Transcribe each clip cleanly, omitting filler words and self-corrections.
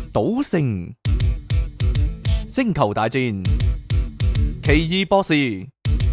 賭聖、星球大戰、奇異博士。你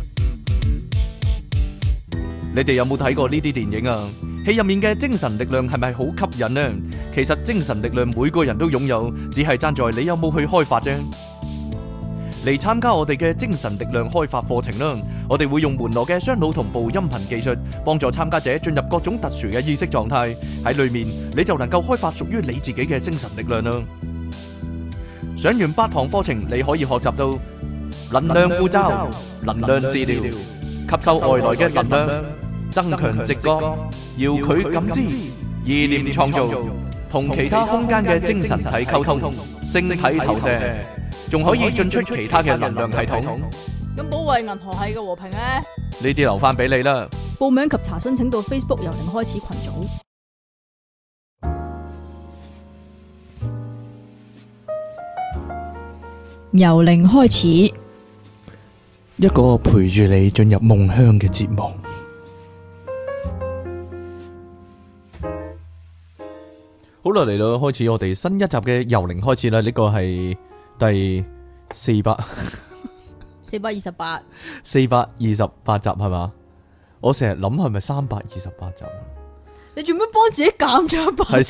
哋有冇睇過呢啲電影啊？戲入面嘅精神力量係咪好吸引呢？其實精神力量每個人都擁有，只係爭在你有冇去開發啫。嚟參加我哋嘅精神力量開發課程啦！我哋會用門羅嘅雙腦同步音頻技術，幫助參加者進入各種特殊嘅意識狀態。喺裏面你就能夠開發屬於你自己嘅精神力量啦！上完8堂課程，你可以學習到能量護罩、能量治療、吸收外來嘅能量、增強直覺、遙距感知、意念創造、同其他空間嘅精神體溝通、星體投射，仲可以進出其他嘅能量系統。 咁保衛銀河系嘅和平咧？ 呢啲留翻俾你啦。 報名及查詢請到 Facebook 由零開始群組。由零開始， 一個陪住你進入夢鄉嘅節目。好啦，嚟到開始我哋新一集嘅由零開始啦。呢個係第428集係嘛？我成日諗係咪328集？ 你做咩幫自己減咗一百？ 係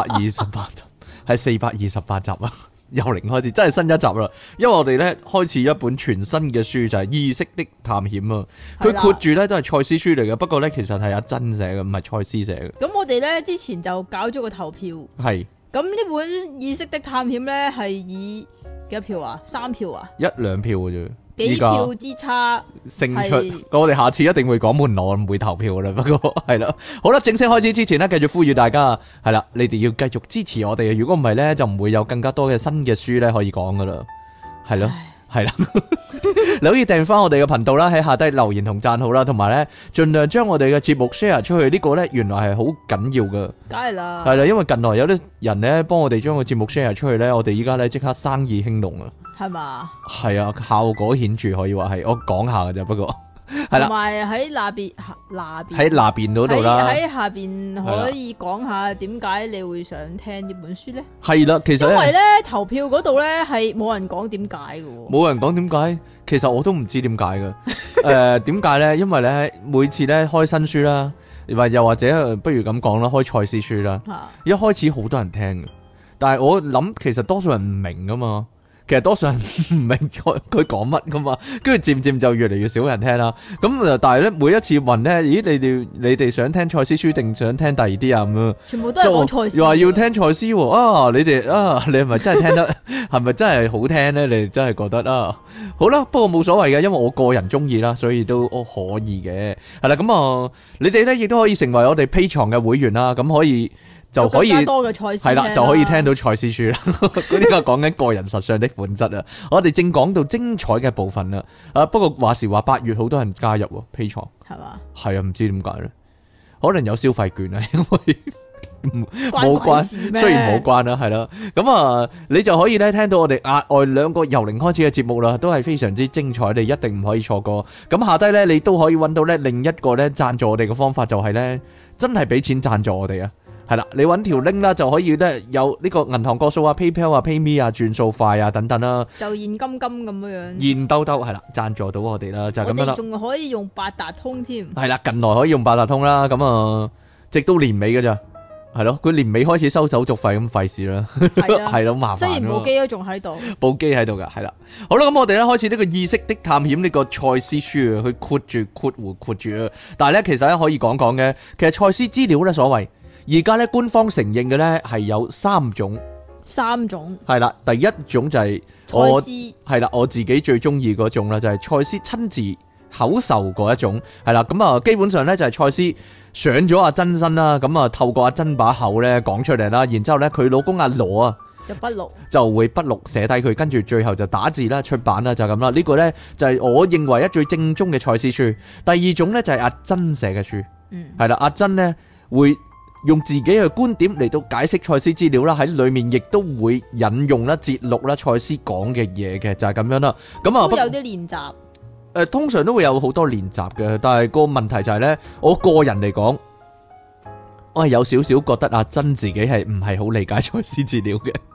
428集，係428集啊！由零開始，真係新一集啦。因為我哋咧開始一本全新嘅書，就係意識的探險啊。佢括住咧都係賽斯書嚟嘅，不過咧其實係阿珍寫嘅，唔係賽斯寫嘅。 咁我哋咧之前就搞咗個投票， 係。咁呢本意識的探險咧係以幾多票啊？3票啊 ？1-2票嘅啫。 幾票之差勝出，我哋下次一定會講門羅，唔會投票啦。不過係啦，好啦，正式開始之前呢，繼續呼籲大家係啦，你哋要繼續支持我哋。如果唔係呢，就唔會有更加多嘅新嘅書呢可以講噶啦。係咯，係啦，你可以訂翻我哋嘅頻道啦，喺下低留言同讚好啦，同埋呢盡量將我哋嘅節目 share 出去。呢個呢原來係好緊要噶， 梗係啦， 係啦，因為近來有啲人呢幫我哋將個節目 share 出去呢，我哋依家呢即刻生意興隆啊！係嘛？係啊，效果顯著，可以話係。我講下嘅啫，不過係啦。同埋喺喺那邊嗰度啦，喺下邊可以講下點解你會想聽呢本書咧？係啦，其實因為咧投票嗰度咧係冇人講點解嘅，冇人講點解。其實我都唔知點解嘅。點解咧？因為咧每次咧開新書啦，又或者不如咁講啦，開賽斯書啦，一開始好多人聽嘅，但係我諗其實多數人唔明噶嘛。其實多數人唔明佢講乜噶嘛，跟住漸漸就越嚟越少人聽啦。咁但係咧每一次問咧，咦你哋想聽賽斯書定想聽第二啲啊？咁樣全部都係講賽斯，又話要聽賽斯喎。啊，你哋啊，你係咪真係聽得？係咪真係好聽咧？你哋真係覺得啊？好啦，不過冇所謂嘅，因為我個人中意啦，所以都可以嘅。係啦，咁啊，你哋咧亦都可以成為我哋 Patreon 嘅會員啦，咁可以。就可以多嘅賽斯係啦，就可以聽到賽斯書啦。呢個講緊個人實相的本質啊！我哋正講到精彩嘅部分啦。不過話時話8月好多人加入 Patreon 係嘛？係啊，唔知點解咧？可能有消費券啊，因為冇關，雖然冇關啦，係啦。咁啊，你就可以咧聽到我哋額外2個由零開始嘅節目啦，都係非常之精彩，你一定唔可以錯過。咁下低咧，你都可以揾到咧另一個咧贊助我哋嘅方法，就係咧真係俾錢贊助我哋啊！係啦，你揾條 link 啦，就可以咧有呢個銀行個數啊、PayPal 啊、PayMe 啊、轉數快啊等等啦，就現金咁樣，現兜兜係啦，贊助到我哋啦，就係咁樣啦。我哋仲可以用八達通添，係啦，近來可以用八達通啦，咁啊，直到年尾噶咋，係咯，佢年尾開始收手續費咁費事啦，係咯，麻煩。雖然部機都仲喺度，部機喺度噶，係啦。好啦，咁我哋咧開始呢個意識的探險呢個賽斯書啊，去括住啊，但係咧其實咧可以講講嘅，其實賽斯資料咧所謂。而家咧官方承認嘅咧係有3種係啦，第一種就係我係啦，我自己最中意嗰種啦，就係賽斯親自口授嗰一種係啦，咁啊基本上咧就係賽斯上咗阿珍身啦，咁啊透過阿珍把口咧講出嚟啦，然之後咧佢老公阿羅啊就會筆錄寫低佢，跟住最後就打字啦出版啦，就咁啦。呢個咧就係我認為最正宗嘅賽斯書。第二種咧就係阿珍寫嘅書，係啦，阿珍咧會用自己嘅觀點嚟到解釋賽斯資料啦，喺裏面亦都會引用啦、節錄啦賽斯講嘅嘢嘅，就係咁樣啦。咁啊，都有啲練習。通常都會有好多練習嘅，但係個問題就係咧，我個人嚟講，我係有少少覺得阿珍自己係唔係好理解賽斯資料嘅。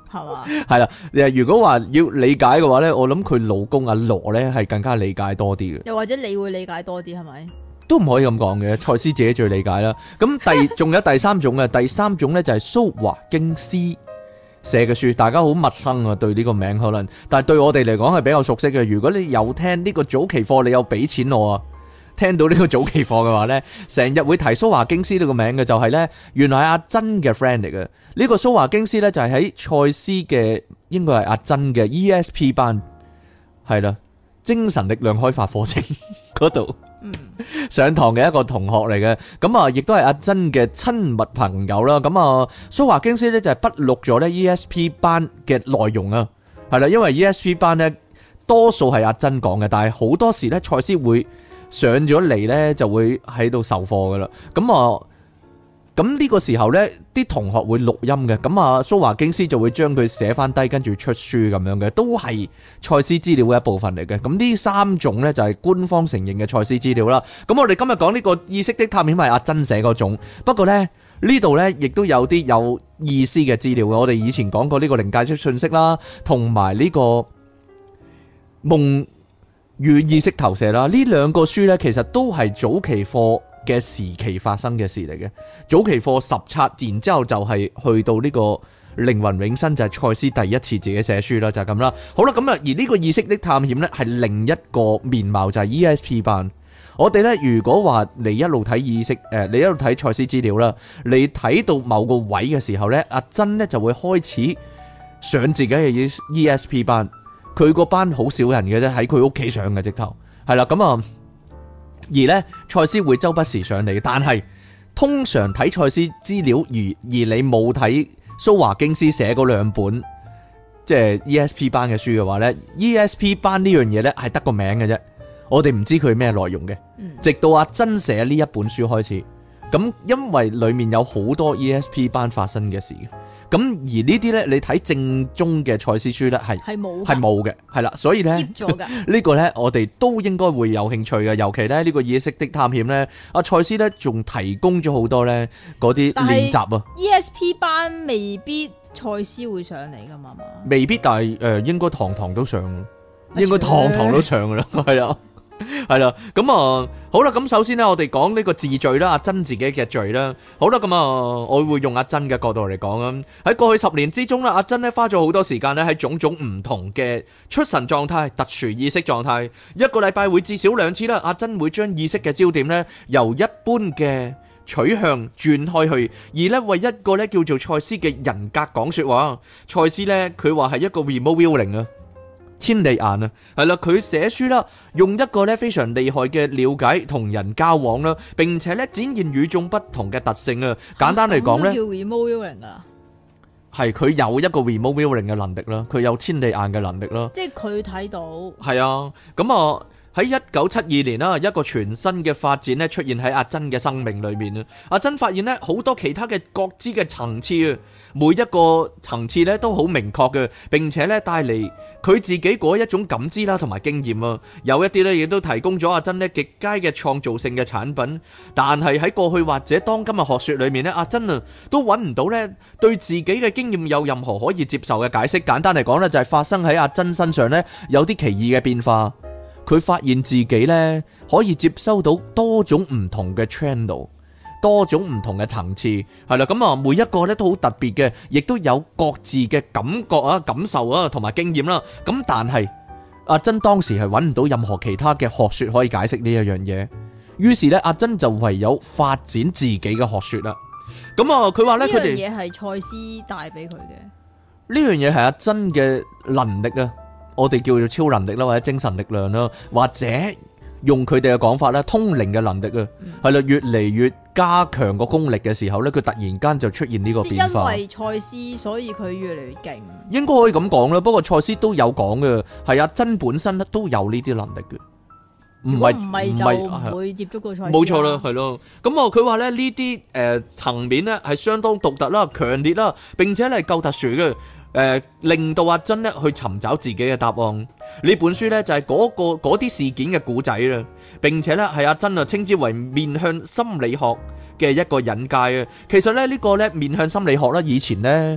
係嘛？ 係啦，如果話要理解嘅話咧，我諗佢老公阿羅咧係更加理解多啲嘅。 又或者你會理解多啲係咪？ 都唔可以咁講嘅，賽斯自己最理解啦。咁仲有第三種嘅，第三種咧就係蘇華經斯寫嘅書，大家好陌生啊，對呢個名可能，但係對我哋嚟講係比較熟悉嘅。如果你有聽呢個早期課，你有俾錢我啊，聽到呢個早期課嘅話呢，成日會提蘇華經斯呢個名嘅，就係呢，原來係阿珍嘅 friend 嚟嘅。呢個蘇華經斯呢，就係喺賽斯嘅，應該係阿珍嘅 ESP 班，係啦，精神力量開發課程嗰度上堂嘅一個同學嚟嘅。咁啊，亦都係阿珍嘅親密朋友啦。咁啊，蘇華經斯呢，就係筆錄咗呢 ESP 班嘅內容啊，係啦，因為 ESP 班呢，多數係阿珍講嘅，但係好多時呢，賽斯會上咗嚟呢，就會喺度授課噶啦。咁呢個時候呢，啲同學會錄音嘅。咁啊，蘇華經斯就會將佢寫翻低，跟住出書咁樣嘅，都係賽斯資料嘅一部分嚟嘅。咁呢三種呢，就係官方承認嘅賽斯資料啦。咁我哋今日講呢個意識的探險係阿珍寫嗰種，不過呢，呢度呢，亦都有啲有意思嘅資料嘅。我哋以前講過呢個靈界式信息啦，同埋呢個夢與意識投射啦，呢兩個書呢，其實都係早期課嘅時期發生嘅事嚟嘅。早期課十冊，然之後就係去到呢個靈魂永生，就係賽斯第一次自己寫書啦，就係咁啦。好啦，咁啊，而呢個意識的探險呢，係另一個面貌，就係 ESP 班。我哋呢，如果話你一路睇意識，你一路睇賽斯資料啦，你睇到某個位嘅時候呢，阿珍呢就會開始上自己嘅 ESP 班。佢個班好少人嘅啫，喺佢屋企上嘅直頭，係啦。咁啊，而呢，賽斯會周不時上嚟，但係通常睇賽斯資料而你冇睇蘇華經斯寫嗰兩本即係 ESP 班嘅書嘅話呢， ESP 班呢樣嘢呢係得個名嘅啫，我哋唔知佢咩內容嘅，直到阿珍寫呢一本書開始。咁因為裡面有好多 ESP 班發生嘅事嘅。咁而呢啲呢，你睇正宗嘅賽斯書呢，係冇嘅，係啦，所以呢，呢個呢，我哋都應該會有興趣嘅，尤其呢，呢個意識的探險呢，阿賽斯呢仲提供咗好多呢嗰啲練習啊。 ESP 班未必賽斯會上嚟噶嘛？ 未必，但係應該堂堂都上，應該堂堂都上噶啦，係啊。係啦，咁啊，好啦，咁首先呢，我哋講呢個自序啦，阿珍自己嘅序啦。好啦，咁啊，我會用阿珍嘅角度嚟講啊。喺過去10年之中啦，阿珍呢花咗好多時間呢喺種種唔同嘅出神狀態、特殊意識狀態，一個禮拜會至少2次啦。阿珍會將意識嘅焦點呢由一般嘅取向轉開去，而呢為一個呢叫做賽斯嘅人格講說話。賽斯呢，佢話係一個 remote viewing 啊。千里眼啊，係啦，佢寫書啦，用一個咧非常厲害嘅了解同人交往啦，並且咧展現與眾不同嘅特性啊。簡單嚟講咧， 叫 remote viewing 噶啦， 係佢有一個 remote viewing 嘅能力啦，佢有千里眼嘅能力啦， 即係佢睇到。係啊，咁啊。喺1972年啦，一個全新嘅發展咧出現喺阿珍嘅生命裏面啊。阿珍發現咧好多其他嘅覺知嘅層次啊，每一個層次咧都好明確嘅，並且咧帶嚟佢自己嗰一種感知啦同埋經驗啊。有一啲咧亦都提供咗阿珍咧極佳嘅創造性嘅產品，但係喺過去或者當今嘅學說裏面咧，阿珍啊都揾唔到咧對自己嘅經驗有任何可以接受嘅解釋。簡單嚟講咧，就係發生喺阿珍身上咧有啲奇異嘅變化。佢發現自己呢可以接收到多種唔同嘅 channel， 多種唔同嘅層次，係啦，咁啊每一個呢都好特別嘅，亦都有各自嘅感覺啊、感受啊同埋經驗啦。咁但係阿珍當時係揾唔到任何其他嘅學說可以解釋呢一樣嘢，於是呢，阿珍就唯有發展自己嘅學說啦。咁啊佢話呢，佢哋呢樣嘢係賽斯帶俾佢嘅， 呢樣嘢係阿珍嘅能力啊。我哋叫做超能力啦，或者精神力量啦，或者用佢哋嘅講法啦，通靈嘅能力啊，係啦，越嚟越加強個功力嘅時候咧，佢突然間就出現呢個變化。 因為賽斯，所以佢越嚟越勁。 應該可以咁講啦，不過賽斯都有講嘅，係阿珍本身都有呢啲能力嘅，唔係就唔會接觸過賽斯。 冇錯啦，係咯。咁啊，佢話咧呢啲層面咧係相當獨特啦、強烈啦，並且係夠特殊嘅。令到阿珍咧去尋找自己嘅答案。呢本書呢，就係嗰啲事件嘅故仔啦，並且呢，係阿珍啊稱之為面向心理學嘅一個引介啊。其實咧呢個呢，面向心理學啦，以前呢，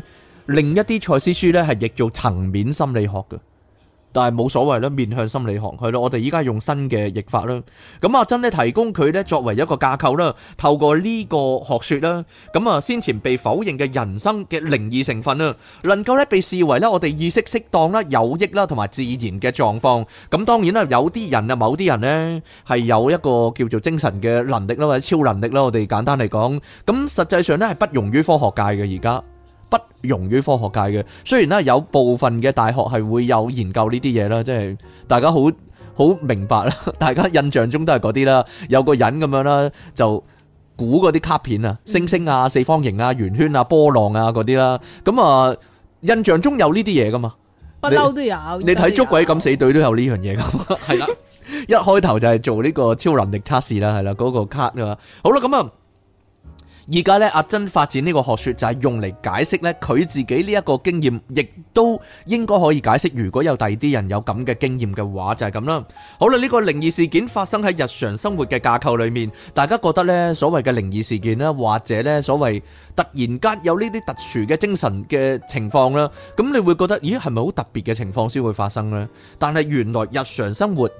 另一啲賽斯書咧係譯做層面心理學嘅。但係冇所謂啦，面向心理學係咯，我哋依家用新嘅譯法啦。咁阿珍咧提供佢咧作為一個架構啦，透過呢個學說啦，咁啊先前被否認嘅人生嘅靈異成分啦，能夠咧被視為咧我哋意識適當啦、有益啦同埋自然嘅狀況。咁當然啦，有啲人啊，某啲人咧係有一個叫做精神嘅能力啦，或者超能力啦，我哋簡單嚟講，咁實際上咧係不容於科學界嘅而家。不容於科學界嘅，雖然咧有部分嘅大學係會有研究呢啲嘢啦，即係大家好明白啦，大家印象中都係嗰啲啦，有個人咁樣啦，就估嗰啲卡片啊，星星啊、四方形啊、圓圈啊、波浪啊嗰啲啦，咁啊印象中有呢啲嘢噶嘛， 不嬲都有。 你睇捉鬼敢死隊都有呢樣嘢噶，係啦，一開頭就係做呢個超能力測試啦，係啦，嗰個卡啊，好啦，咁啊。而家咧，阿珍發展呢個學說就係用嚟解釋咧佢自己呢一個經驗，亦都應該可以解釋如果有第二啲人有咁嘅經驗嘅話，就係咁啦。好啦，呢個靈異事件發生喺日常生活嘅架構裏面，大家覺得呢所謂嘅靈異事件啦，或者呢所謂突然間有呢啲特殊嘅精神嘅情況啦，咁你會覺得咦係咪好特別嘅情況先會發生呢？但係原來日常生活，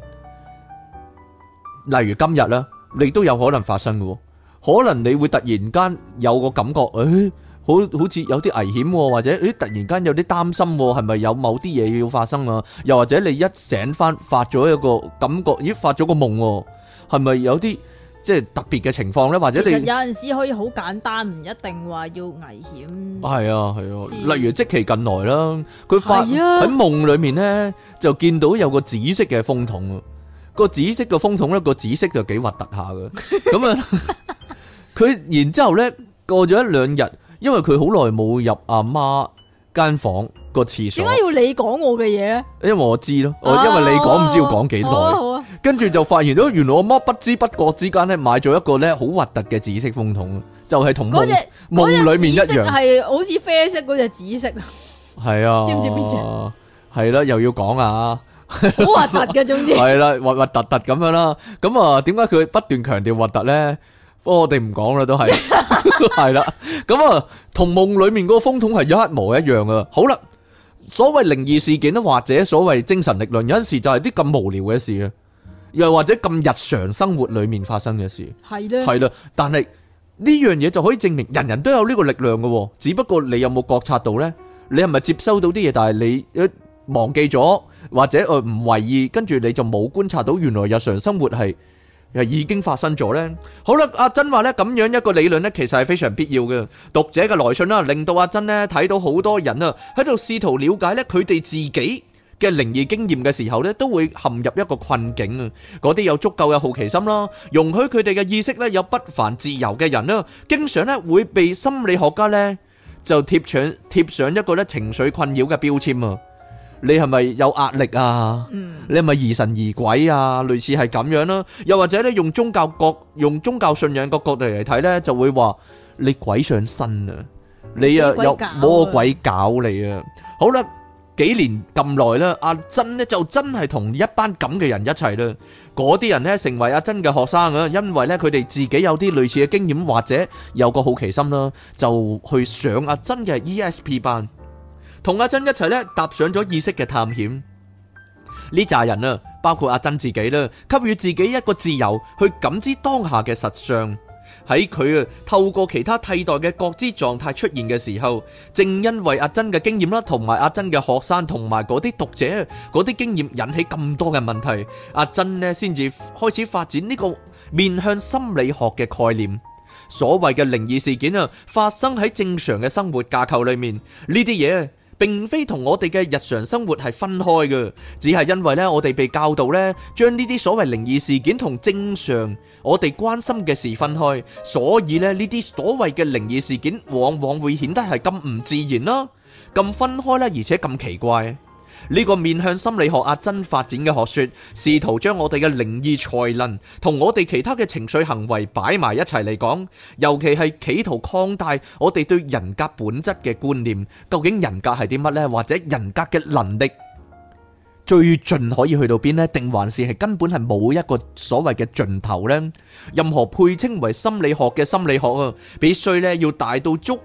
例如今日啦，你都有可能發生嘅。可能你會突然間有個感覺，好似有啲危險，或者突然間有啲擔心，係咪有某啲嘢要發生啊？又或者你一醒翻發咗一個感覺，發咗個夢，係咪有啲即係特別嘅情況呢？或者你其實有陣時可以好簡單，唔一定話要危險。 係啊，例如即期近來啦，佢喺夢裏面呢，就見到有個紫色嘅風筒啊，個紫色嘅風筒呢，個紫色就幾核突下嘅，咁啊。佢然之後咧，過咗一兩日，因為佢好耐冇入阿媽間房個廁所。點解要你講我嘅嘢咧？ 因為我知咯，因為你講唔知要講幾耐。跟住就發現到，原來我媽不知不覺之間咧買咗一個咧好核突嘅紫色風筒，就係同夢裏面一樣， 係好似啡色嗰隻紫色。 係啊， 知唔知邊隻？ 係啦，又要講啊， 好核突嘅，總之係啦，核核突突咁樣啦。咁啊，點解佢不斷強調核突咧？不過我哋唔講啦，都係係啦。咁啊，同夢裏面嗰個風筒係一模一樣啊。好啦，所謂靈異事件咧，或者所謂精神力量，有陣時就係啲咁無聊嘅事啊，又或者咁日常生活裏面發生嘅事，係啦。但係呢樣嘢就可以證明人人都有呢個力量嘅，只不過你有冇覺察到呢？你係咪接收到啲嘢，但係你忘記咗，或者唔為意，跟住你就冇觀察到原來日常生活係已經發生咗呢。好啦，阿珍話呢，咁樣一個理論呢，其實係非常必要嘅。讀者嘅來信啦，令到阿珍呢睇到好多人啊喺度試圖了解呢佢哋自己嘅靈異經驗嘅時候呢，都會陷入一個困境啊。嗰啲有足夠嘅好奇心啦，容許佢哋嘅意識呢有不凡自由嘅人啦，經常呢會被心理學家呢就貼上一個呢情緒困擾嘅標籤啊。你係咪有壓力啊？你係咪疑神疑鬼啊？類似係咁樣啦，又或者咧用宗教信仰個角度嚟睇咧，就會話你鬼上身啊！你啊有魔鬼搞你啊！好啦，幾年咁耐啦，阿珍咧就真係同一班咁嘅人一齊啦。嗰啲人咧成為阿珍嘅學生啊，因為咧佢哋自己有啲類似嘅經驗，或者有個好奇心啦，就去上阿珍嘅 ESP 班。同阿珍一齊咧踏上咗意識嘅探險，呢扎人啊，包括阿珍自己啦，給予自己一個自由去感知當下嘅實相。喺佢透過其他替代嘅覺知狀態出現嘅時候，正因為阿珍嘅經驗啦，同埋阿珍嘅學生同埋嗰啲讀者嗰啲經驗引起咁多嘅問題，阿珍呢先至開始發展呢個面向心理學嘅概念。所謂嘅靈異事件啊，發生喺正常嘅生活架構裏面，呢啲嘢並非同我哋嘅日常生活係分開嘅，只係因為咧我哋被教導咧將呢啲所謂靈異事件同正常我哋關心嘅事分開，所以咧呢啲所謂嘅靈異事件往往會顯得係咁唔自然啦，咁分開啦，而且咁奇怪。呢個面向心理學阿珍發展嘅學說，試圖將我哋嘅靈異才能同我哋其他嘅情緒行為擺埋一齊嚟講，尤其係企圖擴大我哋對人格本質嘅觀念。究竟人格係啲乜呢？或者人格嘅能力最盡可以去到邊呢？定還是係根本係冇一個所謂嘅盡頭呢？任何配稱為心理學嘅心理學啊，必須咧要大到足夠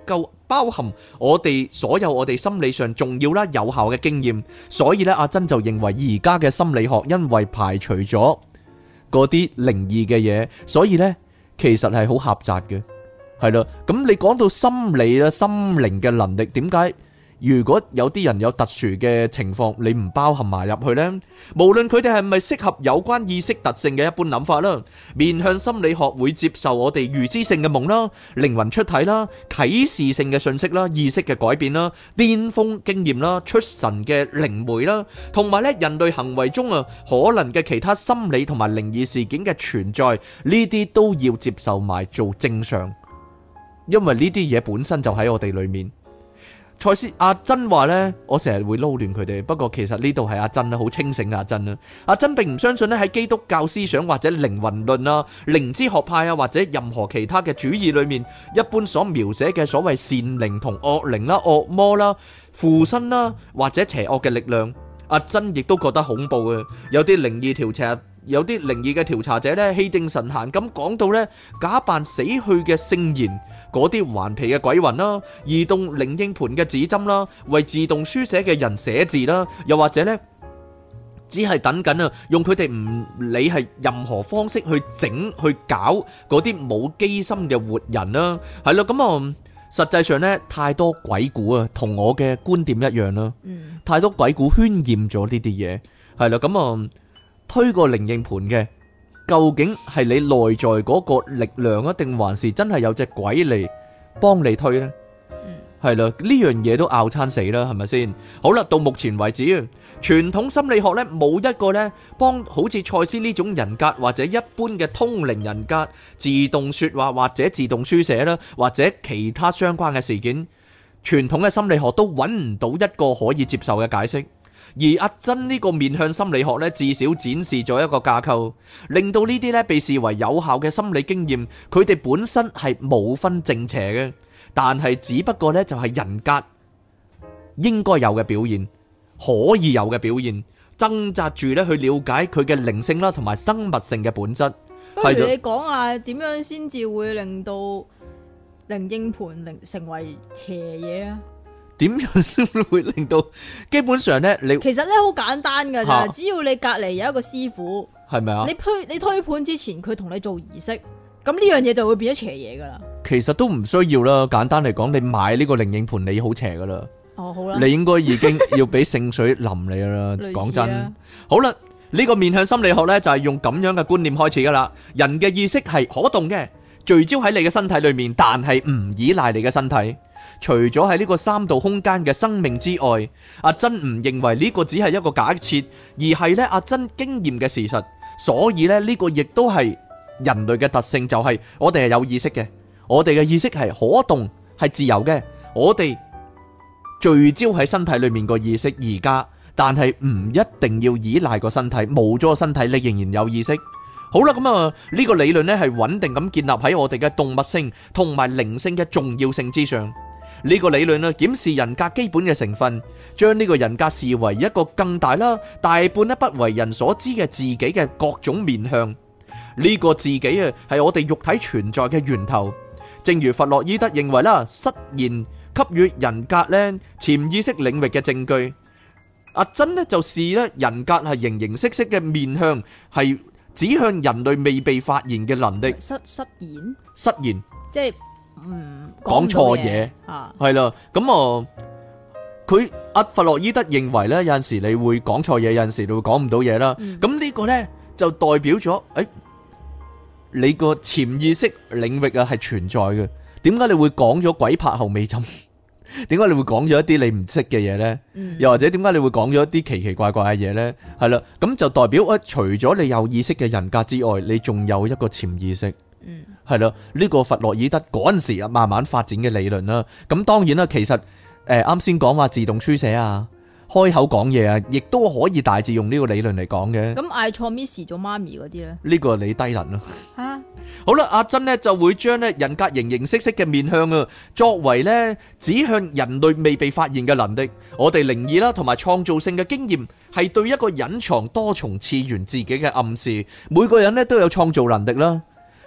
包含我哋所有我哋心理上重要啦、有效嘅經驗。所以咧，阿珍就認為而家嘅心理學因為排除咗嗰啲靈異嘅嘢，所以咧其實係好狹窄嘅。係啦，咁你講到心理啦、心靈嘅能力，點解如果有啲人有特殊嘅情況，你唔包含埋入去呢？無論佢哋係咪適合有關意識特性嘅一般諗法啦，面向心理學會接受我哋預知性嘅夢啦、靈魂出體啦、啟示性嘅信息啦、意識嘅改變啦、巔峰經驗啦、出神嘅靈媒啦，同埋咧人類行為中可能嘅其他心理同埋靈異事件嘅存在，呢啲都要接受埋做正常，因為呢啲嘢本身就喺我哋裏面。賽斯阿珍話呢，我成日會撈亂佢哋，不過其實呢度係阿珍啦，好清醒嘅阿珍啦。阿珍並唔相信咧喺基督教思想或者靈魂論啊、靈知學派啊或者任何其他嘅主義裏面，一般所描寫嘅所謂善靈同惡靈啦、惡魔啦、附身啦或者邪惡嘅力量。阿珍亦都覺得恐怖嘅，有啲靈異嘅調查者咧，氣定神閒咁講到咧，假扮死去嘅聖賢，嗰啲頑皮嘅鬼魂啦，移動靈應盤嘅指針啦，為自動書寫嘅人寫字啦，又或者咧，只係等緊用佢哋唔理係任何方式去整去搞嗰啲冇機心嘅活人啦，係咯，咁實際上咧，太多鬼故啊，同我嘅觀點一樣啦，太多鬼故渲染咗呢啲嘢，係啦，咁推個靈應盤嘅，究竟係你內在嗰個力量啊，定還是真係有隻鬼嚟幫你推呢？係啦，呢樣嘢都拗餐死啦，係咪先？好啦，到目前為止，傳統心理學呢冇一個呢幫好似賽斯呢種人格或者一般嘅通靈人格自動說話或者自動書寫啦，或者其他相關嘅事件，傳統嘅心理學都揾唔到一個可以接受嘅解釋。而阿珍呢個面向心理學呢，至少展示咗一個架構，令到呢啲呢被視為有效嘅心理經驗，佢哋本身係冇分正邪嘅，但係只不過呢就係人格應該有嘅表現，可以有嘅表現，掙扎住呢去了解佢嘅靈性啦，同埋生物性嘅本質。 不如你講下點樣先至會令到靈應盤成為邪嘢啊？ 點樣先會令到？基本上咧，你其實咧好簡單噶咋，只要你隔籬有一個師傅， 係咪啊？ 你推盤之前，佢同你做儀式，咁呢樣嘢就會變咗邪嘢噶啦。 其實都唔需要啦，簡單嚟講，你買呢個靈應盤，你好邪噶啦。 哦，好啦， 你應該已經要俾聖水淋你噶啦。講真，好啦，呢個面向心理學咧就係用咁樣嘅觀念開始噶啦。人嘅意識係可動嘅，聚焦喺你嘅身體裏面，但係唔依賴你嘅身體。除咗喺呢個三度空間嘅生命之外，阿珍唔認為呢個只係一個假設，而係咧阿珍經驗嘅事實。所以咧呢個亦都係人類嘅特性，就係我哋係有意識嘅，我哋嘅意識係可動，係自由嘅。我哋聚焦喺身體裏面個意識而家，但係唔一定要依賴個身體，冇咗個身體你仍然有意識。好啦，咁呢個理論咧係穩定咁建立喺我哋嘅動物性同埋靈性嘅重要性之上。呢個理論咧檢視人格基本嘅成分，將呢個人格視為一個更大啦、大半咧不為人所知嘅自己嘅各種面向。呢個自己係我哋肉體存在嘅源頭。正如弗洛伊德認為啦，失言給予人格咧潛意識領域嘅證據。阿珍咧就視咧人格係形形色色嘅面向，係指向人類未被發現嘅能力。失言， 即係講錯嘢，係啦。咁佢阿弗洛伊德認為咧，有陣時你會講錯嘢，有陣時你會講唔到嘢啦。咁呢個咧就代表咗，你個潛意識領域係存在嘅。點解你會講咗鬼拍後尾枕？點解你會講咗一啲你唔識嘅嘢呢？又或者點解你會講咗一啲奇奇怪怪嘅嘢呢？係啦，咁就代表除咗你有意識嘅人格之外，你仲有一個潛意識。係啦，呢個弗洛伊德嗰陣時慢慢發展嘅理論啦。咁當然啦，其實啱先講話自動書寫啊，開口講嘢啊，亦都可以大致用呢個理論嚟講嘅。 咁嗌錯 Miss 做媽咪嗰啲呢？ 呢個你低能咯。 吓， 好啦，阿珍呢就會將咧人格形形色色嘅面向啊，作為咧指向人類未被發現嘅能力。我哋靈異啦，同埋創造性嘅經驗，係對一個隱藏多重次元自己嘅暗示。每個人咧都有創造能力啦。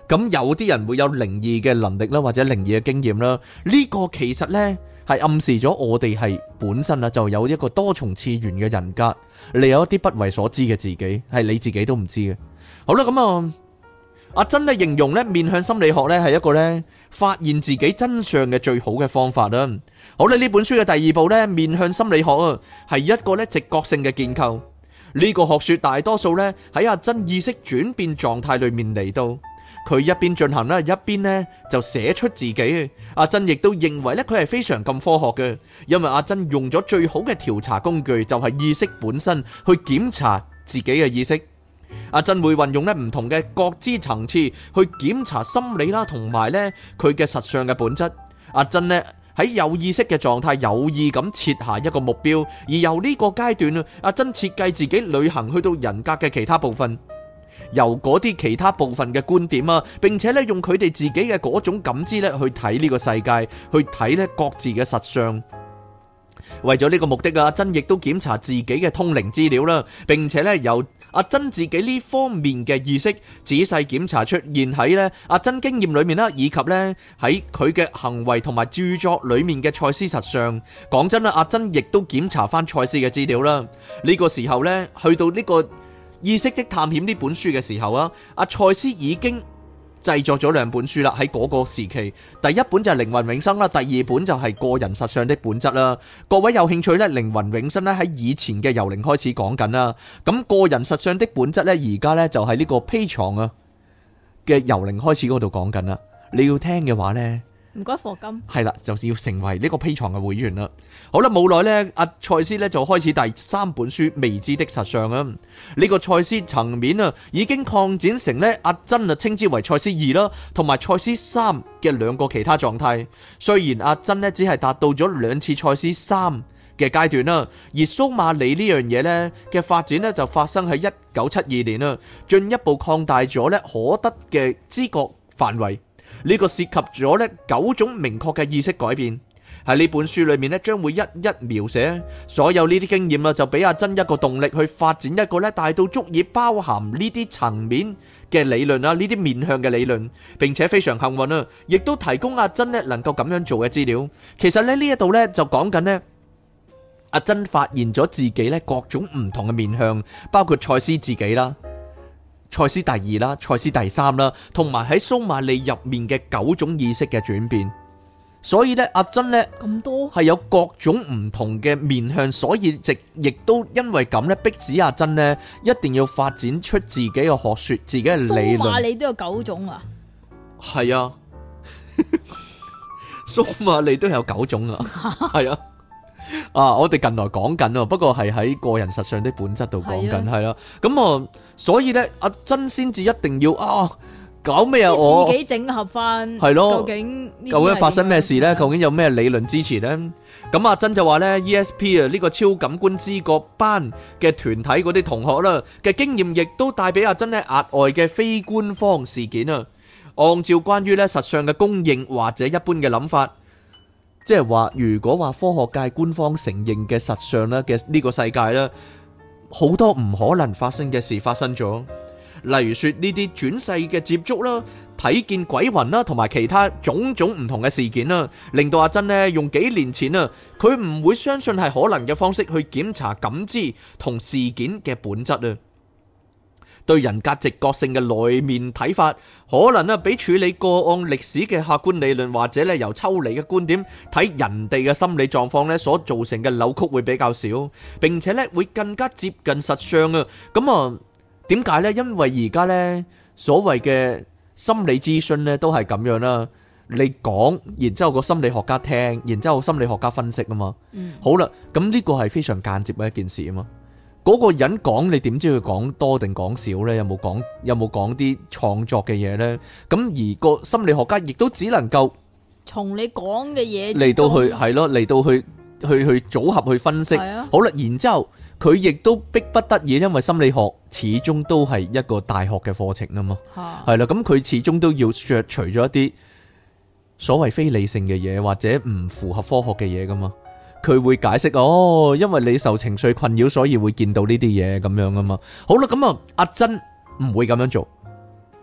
咁有啲人會有靈異嘅能力啦，或者靈異嘅經驗啦，呢個其實呢係暗示咗我哋係本身啊就有一個多重次元嘅人格，你有一啲不為所知嘅自己，係你自己都唔知嘅。好啦，咁啊，阿珍咧形容咧面向心理學咧係一個咧發現自己真相嘅最好嘅方法啦。好啦，呢本書嘅第二部咧面向心理學啊，係一個咧直覺性嘅建構。呢個學說大多數咧喺阿珍意識轉變狀態裏面嚟到。佢一邊進行啦，一邊呢就寫出自己。阿珍亦都認為咧，佢係非常咁科學嘅，因為阿珍用咗最好嘅調查工具，就係意識本身去檢查自己嘅意識。阿珍會運用咧唔同嘅覺知層次去檢查心理啦，同埋咧佢嘅實相嘅本質。阿珍呢喺有意識嘅狀態，有意咁設下一個目標，而由呢個階段，阿珍設計自己旅行去到人格嘅其他部分。由嗰啲其他部分嘅觀點啊，並且咧用佢哋自己嘅嗰種感知咧去睇呢個世界，去睇咧各自嘅實相。為咗呢個目的啊，阿珍亦都檢查自己嘅通靈資料啦，並且咧由阿珍自己呢方面嘅意識仔細檢查出現喺咧阿珍經驗裏面啦，以及咧喺佢嘅行為同埋著作裏面嘅賽斯實相。講真啦，阿珍亦都檢查翻賽斯嘅資料啦。呢個時候咧，去到呢個意識的探險呢本書嘅時候啊，阿賽斯已經製作咗兩本書啦。喺嗰個時期，第一本就係靈魂永生啦，第二本就係個人實相的本質啦。各位有興趣呢，靈魂永生呢喺以前嘅由零開始講緊啦，咁個人實相的本質呢，而家呢就係呢個 Patreon 啊嘅由零開始嗰度講緊啦。你要聽嘅話呢， 唔該課金係啦，就是要成為呢個 Patreon嘅會員啦。好啦，冇耐呢，阿賽斯呢就開始第三本書未知的實相啊。呢個賽斯層面啊，已經擴展成呢阿珍啊稱之為賽斯2啦，同埋賽斯3嘅兩個其他狀態。雖然阿珍呢只係達到咗兩次賽斯3嘅階段啦，而蘇馬利呢樣嘢呢嘅發展呢就發生喺1972年啦，進一步擴大咗呢可得嘅知覺範圍。呢個涉及咗呢9種明確嘅意識改變。喺呢本書裏面呢，將會一一描寫所有呢啲經驗啊，就俾阿珍一個動力去發展一個呢大到足以包含呢啲層面嘅理論啊，呢啲面向嘅理論，並且非常幸運啊，亦都提供阿珍呢能夠咁樣做嘅資料。其實呢呢一度呢就講緊呢，阿珍發現咗自己呢各種唔同嘅面向，包括賽斯自己啦、賽斯第2啦、賽斯第3啦，同埋喺蘇馬利入面嘅9種意識嘅轉變。所以咧，阿珍咧咁多係有各種唔同嘅面向，所以亦都因為咁咧，逼使阿珍咧一定要發展出自己嘅學說、自己嘅理論。蘇馬利都有9種啊？係啊，蘇馬利都有9種啊，係啊。啊，我哋近來講緊啊，不過係喺個人實相的本質度講緊，係啦。咁啊，所以咧，阿珍先至一定要搞咩啊？我自己整合翻係咯， 究竟發生咩事呢？究竟有咩理論支持呢？咁阿珍就話呢 ESP 啊呢個超感官知覺班嘅團體嗰啲同學啦嘅經驗，亦都帶俾阿珍呢額外嘅非官方事件啊。按照關於呢實相嘅公認或者一般嘅諗法，即係話如果話科學界官方承認嘅實相啦嘅呢個世界啦，好多唔可能發生嘅事發生咗。例如說呢啲轉世嘅接觸啦、睇見鬼魂啦，同埋其他種種唔同嘅事件啦，令到阿珍呢用幾年前啊，佢唔會相信係可能嘅方式去檢查感知同事件嘅本質啊。對人格直覺性嘅內面睇法，可能啊比處理個案歷史嘅客觀理論，或者咧由抽離嘅觀點睇人哋嘅心理狀況咧所造成嘅扭曲會比較少，並且咧會更加接近實相啊。咁啊。點解呢？因為而家呢所謂嘅心理諮詢呢都係咁樣啦，你講，然之後個心理學家聽，然之後心理學家分析啊嘛。好啦，咁呢個係非常間接嘅一件事啊嘛。嗰個人講，你點知佢講多定講少呢？有冇講啲創作嘅嘢呢？咁而個心理學家亦都只能夠從你講嘅嘢嚟到去係咯，嚟到去組合去分析。好啦，然之後。佢亦都逼不得已，因為心理學始終都係一個大學嘅課程啊嘛，係啦，咁佢始終都要削除咗一啲所謂非理性嘅嘢，或者唔符合科學嘅嘢噶嘛。佢會解釋因為你受情緒困擾，所以會見到呢啲嘢咁樣啊嘛。好啦，咁啊，阿珍唔會咁樣做，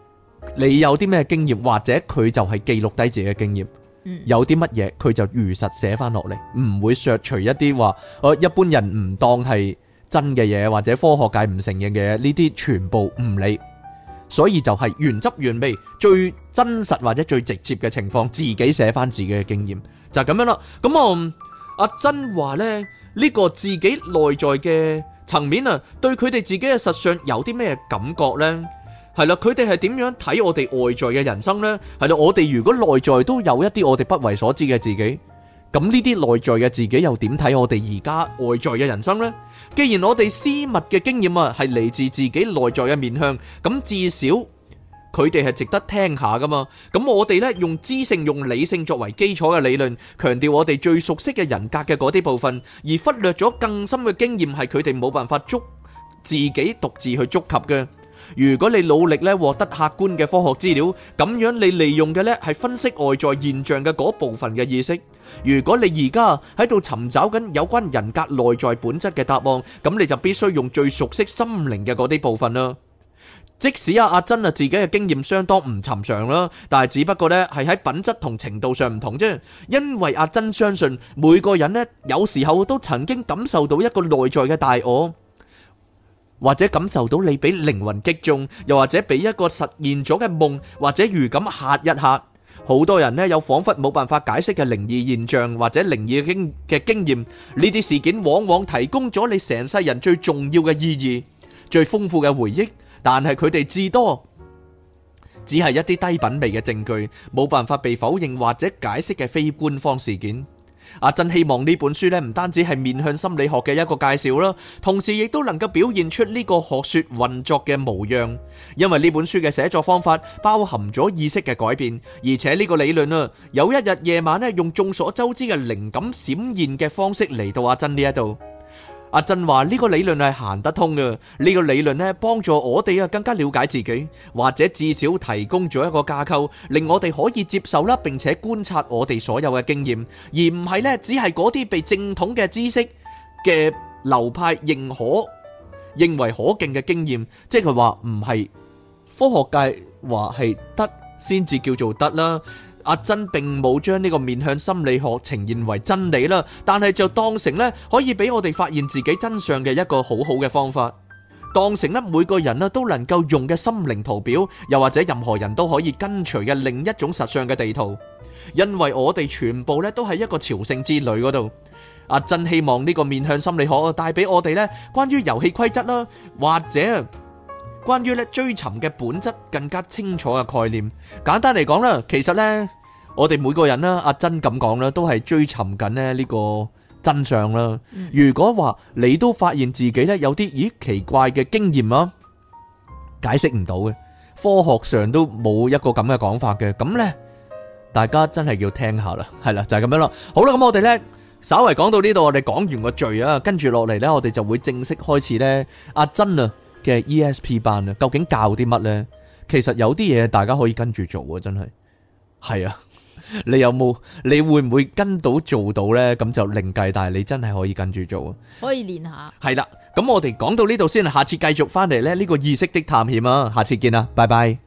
你有啲咩經驗，或者佢就係記錄低自己嘅經驗。有啲乜嘢佢就如實寫翻落嚟，唔會削除一啲話一般人唔當係真嘅嘢，或者科學界唔承認嘅嘢，呢啲全部唔理。所以就係原汁原味、最真實或者最直接嘅情況，自己寫翻自己嘅經驗，就係咁樣啦。咁阿珍話呢，呢個自己內在嘅層面啊，對佢哋自己嘅實相有啲咩感覺呢？係啦，佢哋係點樣睇我哋外在嘅人生呢？係啦，我哋如果內在都有一啲我哋不為所知嘅自己，咁呢啲內在嘅自己又點睇我哋而家外在嘅人生呢？既然我哋私密嘅經驗啊係嚟自自己內在嘅面向，咁至少佢哋係值得聽下噶嘛。咁我哋呢，用知性、用理性作為基礎嘅理論，強調我哋最熟悉嘅人格嘅嗰啲部分，而忽略咗更深嘅經驗係佢哋冇辦法自己獨自去觸及嘅。如果你努力咧獲得客觀嘅科學資料，咁樣你利用嘅咧係分析外在現象嘅嗰部分嘅意識。如果你而家喺度尋找緊有關人格內在本質嘅答案，咁你就必須用最熟悉心靈嘅嗰啲部分啦。即使阿珍自己嘅經驗相當唔尋常啦，但係只不過咧係喺品質同程度上唔同啫。因為阿珍相信每個人咧有時候都曾經感受到一個內在嘅大我。或者感受到你俾靈魂擊中，又或者俾一個實現咗嘅夢或者預感嚇一嚇。好多人呢有彷彿冇辦法解釋嘅靈異現象或者靈異嘅經驗，呢啲事件往往提供咗你成世人最重要嘅意義、最豐富嘅回憶，但係佢哋至多只係一啲低品味嘅證據，冇辦法被否認或者解釋嘅非官方事件。阿珍希望呢本書咧唔單止係面向心理學嘅一個介紹啦，同時亦都能夠表現出呢個學說運作嘅模樣。因為呢本書嘅寫作方法包含咗意識嘅改變，而且呢個理論啊，有一日夜晚咧用眾所周知嘅靈感閃現嘅方式嚟到阿珍呢一度。阿珍話呢個理論係行得通嘅，呢個理論咧幫助我哋更加了解自己，或者至少提供咗一個架構，令我哋可以接受啦，並且觀察我哋所有嘅經驗，而唔係咧只係嗰啲被正統嘅知識嘅流派認為可敬嘅經驗，即係話唔係科學界話係得先至叫做得啦。阿珍並冇將呢個面向心理學呈現為真理啦，但係就當成咧可以俾我哋發現自己真相嘅一個好好嘅方法，當成咧每個人都能夠用嘅心靈圖表，又或者任何人都可以跟隨嘅另一種實相嘅地圖，因為我哋全部咧都係一個朝聖之旅嗰度。阿珍希望呢個面向心理學帶俾我哋咧關於遊戲規則啦，或者關於咧追尋嘅本質更加清楚嘅概念。簡單嚟講啦，其實呢，我哋每個人啦，阿珍咁講啦，都係追尋緊咧呢個真相啦。如果話你都發現自己咧有啲奇怪嘅經驗啊，解釋唔到嘅，科學上都冇一個咁嘅講法嘅，咁呢，大家真係要聽下啦。係啦，就係咁樣啦。好啦，咁我哋呢，稍為講到呢度，我哋講完個序啊，跟住落嚟呢，我哋就會正式開始呢阿珍啊嘅 ESP 班啊，究竟教啲乜呢？其實有啲嘢大家可以跟住做啊，真係係啊！你會唔會跟到做到呢？咁就另計，但係你真係可以跟住做啊！ 可以練下。係啦，咁我哋講到呢度先，下次繼續翻嚟呢個意識的探險啊！下次見啦，拜拜。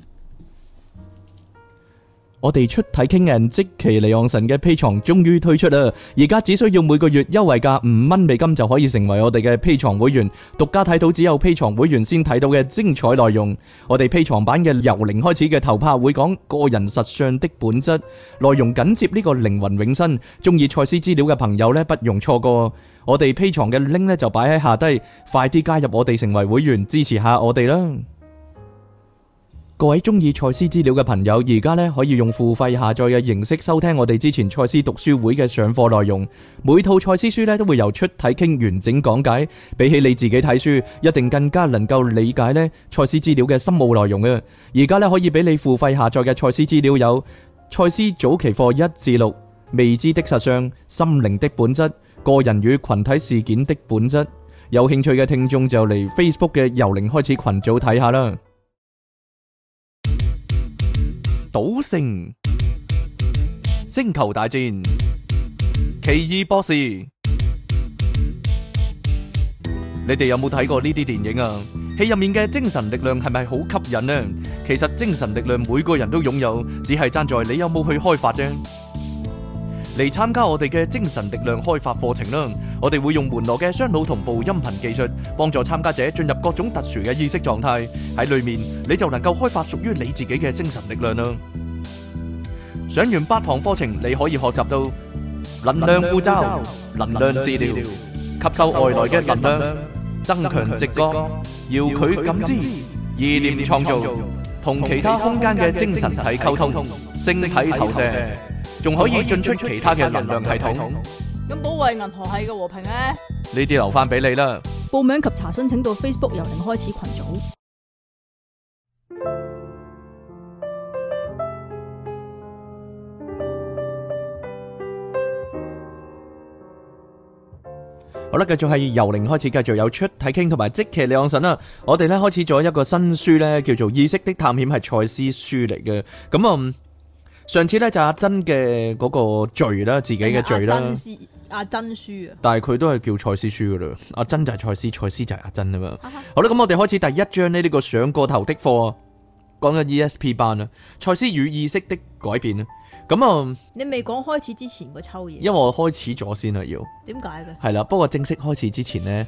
我哋出體傾人即其離岸神嘅 Patreon 終於推出啦！而家只需要每個月優惠價5蚊美金就可以成為我哋嘅 Patreon 會員，獨家睇到只有 Patreon 會員先睇到嘅精彩內容。我哋 Patreon 版嘅由零開始嘅頭拍會講個人實相的本質，內容緊接呢個靈魂永生。中意賽斯資料嘅朋友呢，不容錯過。我哋 Patreon 嘅 link 呢就擺喺下低，快啲加入我哋成為會員，支持下我哋啦！各位中意賽斯資料嘅朋友，而家咧可以用付費下載嘅形式收聽我哋之前賽斯讀書會嘅上課內容。每套賽斯書咧都會由出體傾完整講解，比起你自己睇書，一定更加能夠理解咧賽斯資料嘅深奧內容嘅。而家咧可以俾你付費下載嘅賽斯資料有賽斯早期課1至6、未知的實相、心靈的本質、個人與群體事件的本質。有興趣嘅聽眾就嚟 Facebook 嘅由零開始群組睇下啦。賭聖、星球大戰、奇異博士，你哋有冇睇過呢啲電影啊？ 戲入面嘅精神力量係咪好吸引呢？其實精神力量每個人都擁有，只係爭在你有冇去開發啫。嚟參加我哋嘅精神力量開發課程啦！我哋會用門羅嘅雙腦同步音頻技術，幫助參加者進入各種特殊嘅意識狀態。喺裏面你就能夠開發屬於你自己嘅精神力量啦！上完8堂課程，你可以學習到能量護罩、能量治療、吸收外來嘅能量、增強直覺、遙距感知、意念創造、同其他空間嘅精神體溝通、星體投射，仲可以進出其他嘅能量系統。 咁保衛銀河系嘅和平呢？ 呢啲留翻俾你啦。 報名及查詢請到 Facebook 由零開始群組。 好啦，繼續係由零開始，繼續有出體傾同埋即其李昂臣啦。我哋咧開始咗一個新書咧，叫做《意識的探險》，係賽斯書嚟嘅。咁上次咧就阿珍嘅嗰個罪啦，自己嘅罪啦。阿珍書啊，但係佢都係叫賽斯書噶啦。阿珍就係賽斯，賽斯就係阿珍啊嘛。好啦，咁我哋開始第一章呢個上過頭的課，講緊 ESP 班啦，賽斯與意識的改變啊。咁你未講開始之前個抽嘢， 因為我開始咗先啊，要點解嘅？ 係啦，不過正式開始之前呢，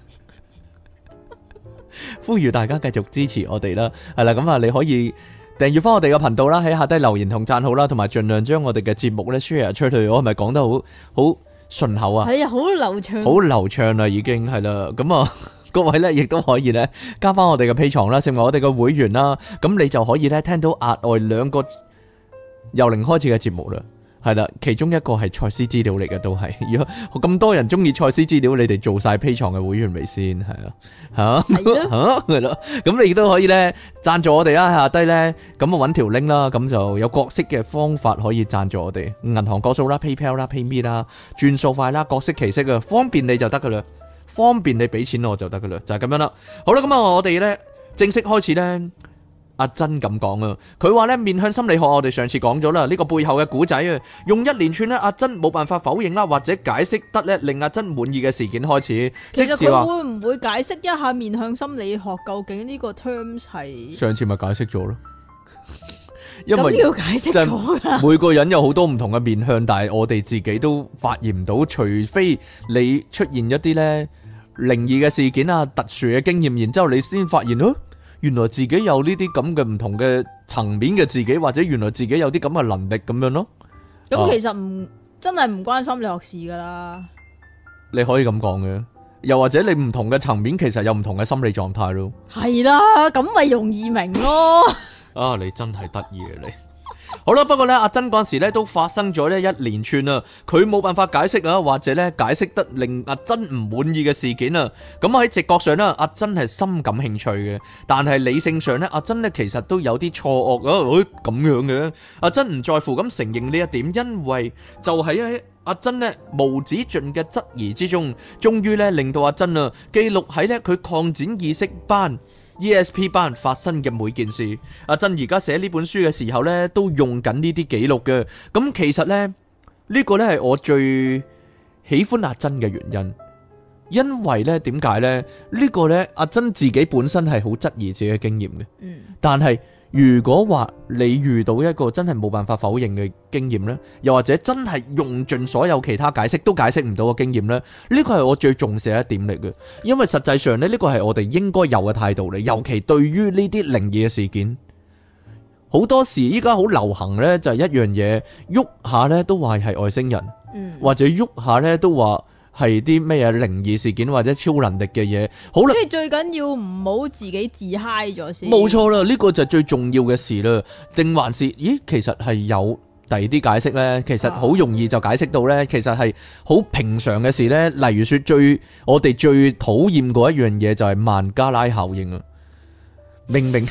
呼籲大家繼續支持我哋啦。係啦，咁你可以訂閱翻我哋嘅頻道啦，喺下低留言同讚好啦，同埋盡量將我哋嘅節目咧 share 出去。我係咪講得好順口啊？ 係啊，好流暢， 好流暢啦，已經係啦。咁各位咧亦都可以咧加翻我哋嘅 Patreon啦，成為我哋嘅會員啦。咁你就可以咧聽到額外2個由零開始嘅節目啦。係啦，其中一個係賽斯資料嚟嘅，都係。如果咁多人中意賽斯資料，你哋做晒 Patreon嘅會員未先？係啊，係咯。咁你亦都可以咧贊助我哋啦，下低咧咁揾條 link 啦，咁就有各式嘅方法可以贊助我哋。銀行個數啦、PayPal 啦、PayMe 啦、轉數快啦，各式其式啊，方便你就得噶啦，方便你俾錢我就得噶啦，就係咁樣啦。好啦，咁我哋咧正式開始咧。阿珍咁講啊，佢話咧面向心理學，我哋上次講咗啦，呢個背後嘅古仔啊，用一連串咧阿珍冇辦法否認啦，或者解釋得咧令阿珍滿意嘅事件開始。 其實佢會唔會解釋一下面向心理學究竟呢個 terms 係？上次咪解釋咗咯，因為要解釋咗㗎。每個人有好多唔同嘅面向，但係我哋自己都發現唔到，除非你出現一啲咧靈異嘅事件啊、特殊嘅經驗，然之後你先發現原來自己有呢啲咁嘅唔同嘅層面嘅自己，或者原來自己有啲咁嘅能力咁樣咯。咁其實真係唔關心理學事噶啦。你可以咁講嘅，又或者你唔同嘅層面，其實有唔同嘅心理狀態咯。係啦，咁咪容易明咯。啊，你真係得意啊你！好啦，不過咧，阿珍嗰時咧都發生咗呢一連串啊，佢冇辦法解釋啊，或者咧解釋得令阿珍唔滿意嘅事件啊。咁喺直覺上咧，阿珍係深感興趣嘅，但係理性上咧，阿珍咧其實都有啲錯愕啊，咁樣嘅。阿珍唔在乎咁承認呢一點，因為就喺阿珍咧無止盡嘅質疑之中，終於咧令到阿珍啊記錄喺咧佢擴展意識班ESP 班發生嘅每件事。阿珍而家寫呢本書嘅時候呢，都用緊呢啲記錄嘅。咁其實呢，呢個呢係我最喜歡阿珍嘅原因，因為呢點解呢？呢個呢，阿珍自己本身係好質疑自己嘅經驗嘅。但係如果話你遇到一個真係冇辦法否認嘅經驗呢，又或者真係用盡所有其他解釋都解釋唔到嘅經驗呢，呢個係我最重視嘅一點嚟嘅。因為實際上呢，呢個係我哋應該有嘅態度嚟，尤其對於呢啲靈異嘅事件，好多時依家好流行呢，就係一樣嘢，喐下呢都話係外星人，或者喐下呢都話係啲咩嘢靈異事件或者超能力嘅嘢。好啦，即係最緊要唔好自己自嗨咗先。冇錯啦，呢個就係最重要嘅事啦。定還是咦，其實係有第二啲解釋呢？其實好容易就解釋到呢，其實係好平常嘅事呢。例如說我哋最討厭嗰一樣嘢就係曼加拉效應啊！明明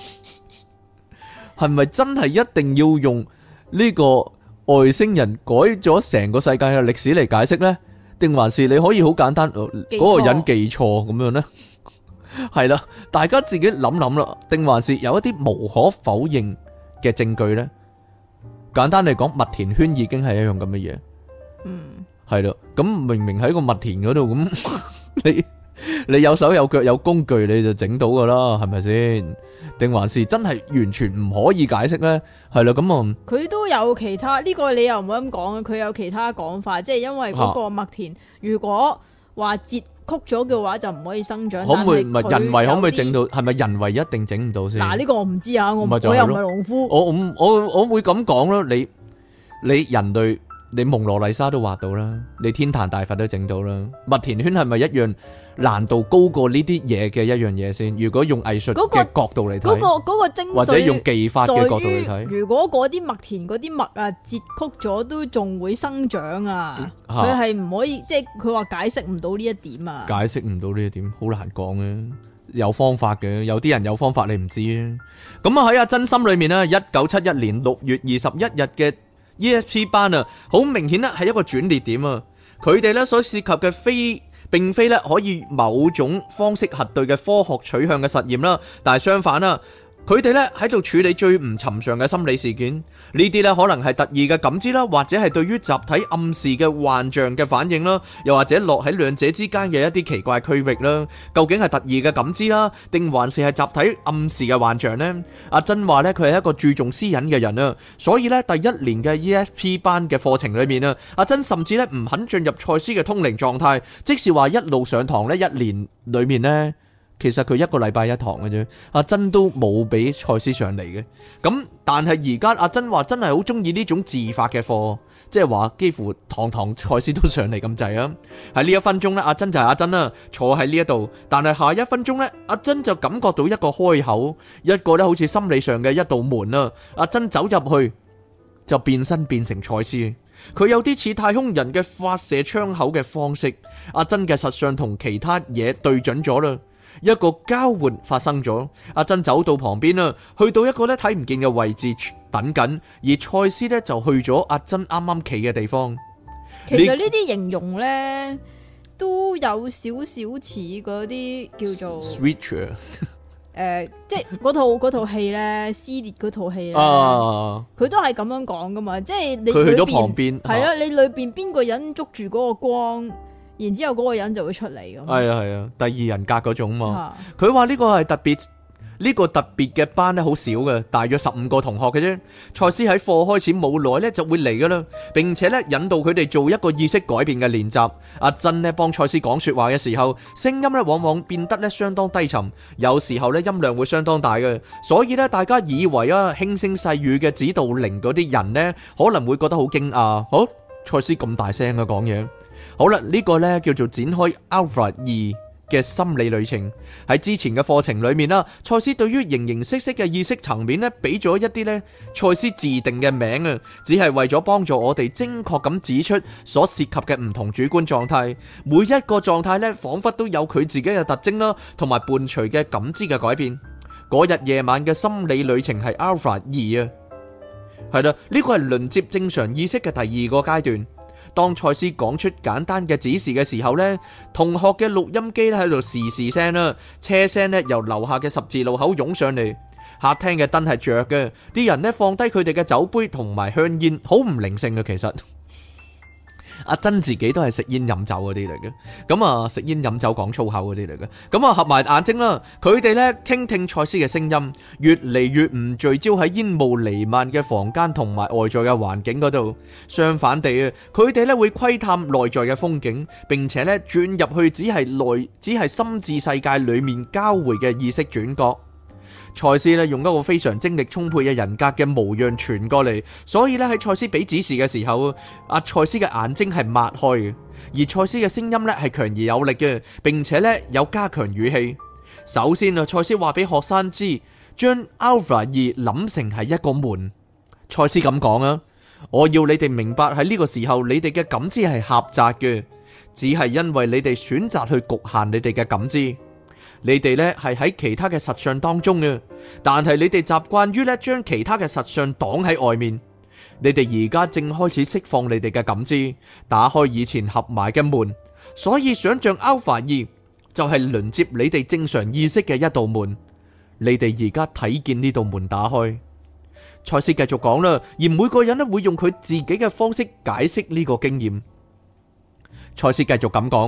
係咪真係一定要用呢個外星人改咗成個世界嘅歷史嚟解釋呢？定還是你可以好簡單，嗰個人記錯咁樣呢？係啦，大家自己諗諗啦。定還是有一啲無可否認嘅證據呢？簡單嚟講，麥田圈已經係一樣咁嘅嘢。係啦，咁明明喺個麥田嗰度，咁你有手有腳有工具你就整到噶啦，係咪先？定還是真係完全唔可以解釋呢？係啦，咁啊， 佢都有其他呢個，你又唔好咁講，佢有其他講法，即係因為嗰個麥田如果話截曲咗嘅話就唔可以生長。可唔可以唔係人為可唔可以整到？係咪人為一定整唔到先？嗱，呢個我唔知啊，我又唔係農夫。 我會咁講咯，你人類。你蒙羅麗莎都畫到啦，你天壇大佛都整到啦，麥田圈係咪一樣難度高過呢啲嘢嘅一樣嘢先？如果用藝術嘅角度嚟睇， 嗰個精髓或者用技法嘅角度嚟睇， 如果嗰啲麥田嗰啲麥啊截曲咗都仲會生長啊，佢係唔可以，即係佢話解釋唔到呢一點啊， 解釋唔到呢一點，好難講嘅，有方法嘅，有啲人有方法你唔知啊。咁啊喺阿珍心裏面呢，1971年6月21日嘅ESP 班啊，好明顯咧係一個轉捩點啊！佢哋咧所涉及嘅並非咧可以某種方式核對嘅科學取向嘅實驗啦，但係相反啦。佢哋咧喺度處理最唔尋常嘅心理事件，呢啲咧可能係特異嘅感知啦，或者係對於集體暗示嘅幻象嘅反應啦，又或者落喺兩者之間嘅一啲奇怪區域啦。究竟係特異嘅感知啦，定還是係集體暗示嘅幻象呢？阿珍話咧佢係一個注重私隱嘅人啊，所以咧第一年嘅 ESP 班嘅課程裏面啊，阿珍甚至咧唔肯進入賽斯嘅通靈狀態，即是話一路上堂咧一年裏面呢。其實佢一個禮拜一堂嘅啫，阿珍都冇俾賽斯上嚟嘅。咁但係而家阿珍話真係好中意呢種自發嘅課，即係話幾乎堂賽斯都上嚟咁滯啊。喺呢一分鐘呢，阿珍就係阿珍啦，坐喺呢一度。但係下一分鐘呢，阿珍就感覺到一個開口，一個咧好似心理上嘅一道門啊。阿珍走入去就變身變成賽斯，佢有啲似太空人嘅發射窗口嘅方式。阿珍嘅實相同其他嘢對準咗啦。一個交換發生咗，阿珍走到旁邊啦，去到一個咧睇唔見嘅位置等緊，而賽斯咧就去咗阿珍啱啱企嘅地方。 其實呢啲形容咧都有少少似嗰啲叫做 Switcher， 即係嗰套戲咧，撕裂嗰套戲咧，佢都係咁樣講噶嘛，即係你佢去咗旁邊， 係啊，你裏邊邊個人捉住嗰個光。然之後嗰個人就會出嚟咁。 係啊，第二人格嗰種嘛。佢話呢個係特別嘅班咧，好少嘅，大約15個同學嘅啫。賽斯喺課開始冇耐咧就會嚟噶啦，並且咧引導佢哋做一個意識改變嘅練習。阿珍咧幫賽斯講說話嘅時候，聲音咧往往變得咧相當低沉，有時候咧音量會相當大嘅，所以咧大家以為啊輕聲細語嘅指導靈嗰啲人咧可能會覺得好驚訝。好，賽斯咁大聲嘅講嘢。好啦，呢個呢叫做展開 Alpha 2嘅心理旅程。喺之前嘅課程裏面啦，賽斯對於形形色色嘅意識層面呢，俾咗一啲呢賽斯自定嘅名啊，只係為咗幫助我哋精確咁指出所涉及嘅唔同主觀狀態。每一個狀態呢，仿佛都有佢自己嘅特徵啦，同埋伴隨嘅感知嘅改變。嗰日夜晚嘅心理旅程係 Alpha 2啊，係啦，呢個係連接正常意識嘅第二個階段。當賽斯講出簡單嘅指示嘅時候呢，同學嘅錄音機咧喺度時時聲啦，車聲咧由樓下嘅十字路口湧上嚟，客廳嘅燈係着嘅，啲人咧放低佢哋嘅酒杯同埋香煙，好唔靈性嘅其實。阿珍自己都係食煙飲酒嗰啲嚟嘅，咁啊食煙飲酒講粗口嗰啲嚟嘅，咁啊合埋眼睛啦，佢哋咧傾聽賽斯嘅聲音，越嚟越唔聚焦喺煙霧彌漫嘅房間同埋外在嘅環境嗰度，相反地啊，佢哋咧會窺探內在嘅風景，並且咧轉入去只係心智世界裏面交匯嘅意識轉角。賽斯咧用一個非常精力充沛嘅人格嘅模樣傳過嚟，所以咧喺賽斯俾指示嘅時候，阿賽斯嘅眼睛係擘開嘅，而賽斯嘅聲音咧係強而有力嘅，並且咧有加強語氣。首先啊，賽斯話俾學生知，將 Alpha 2諗成係一個門。賽斯咁講啊，我要你哋明白喺呢個時候，你哋嘅感知係狹窄嘅，只係因為你哋選擇去局限你哋嘅感知。你哋呢係喺其他嘅實相當中嘅，但係你哋習慣於呢將其他嘅實相擋喺外面。你哋而家正開始釋放你哋嘅感知，打開以前合埋嘅門。所以想象 Alpha 2就係連接你哋正常意識嘅一道門。你哋而家睇見呢道門打開。賽斯繼續講啦，而每個人呢會用佢自己嘅方式解釋呢個經驗。賽斯繼續咁講。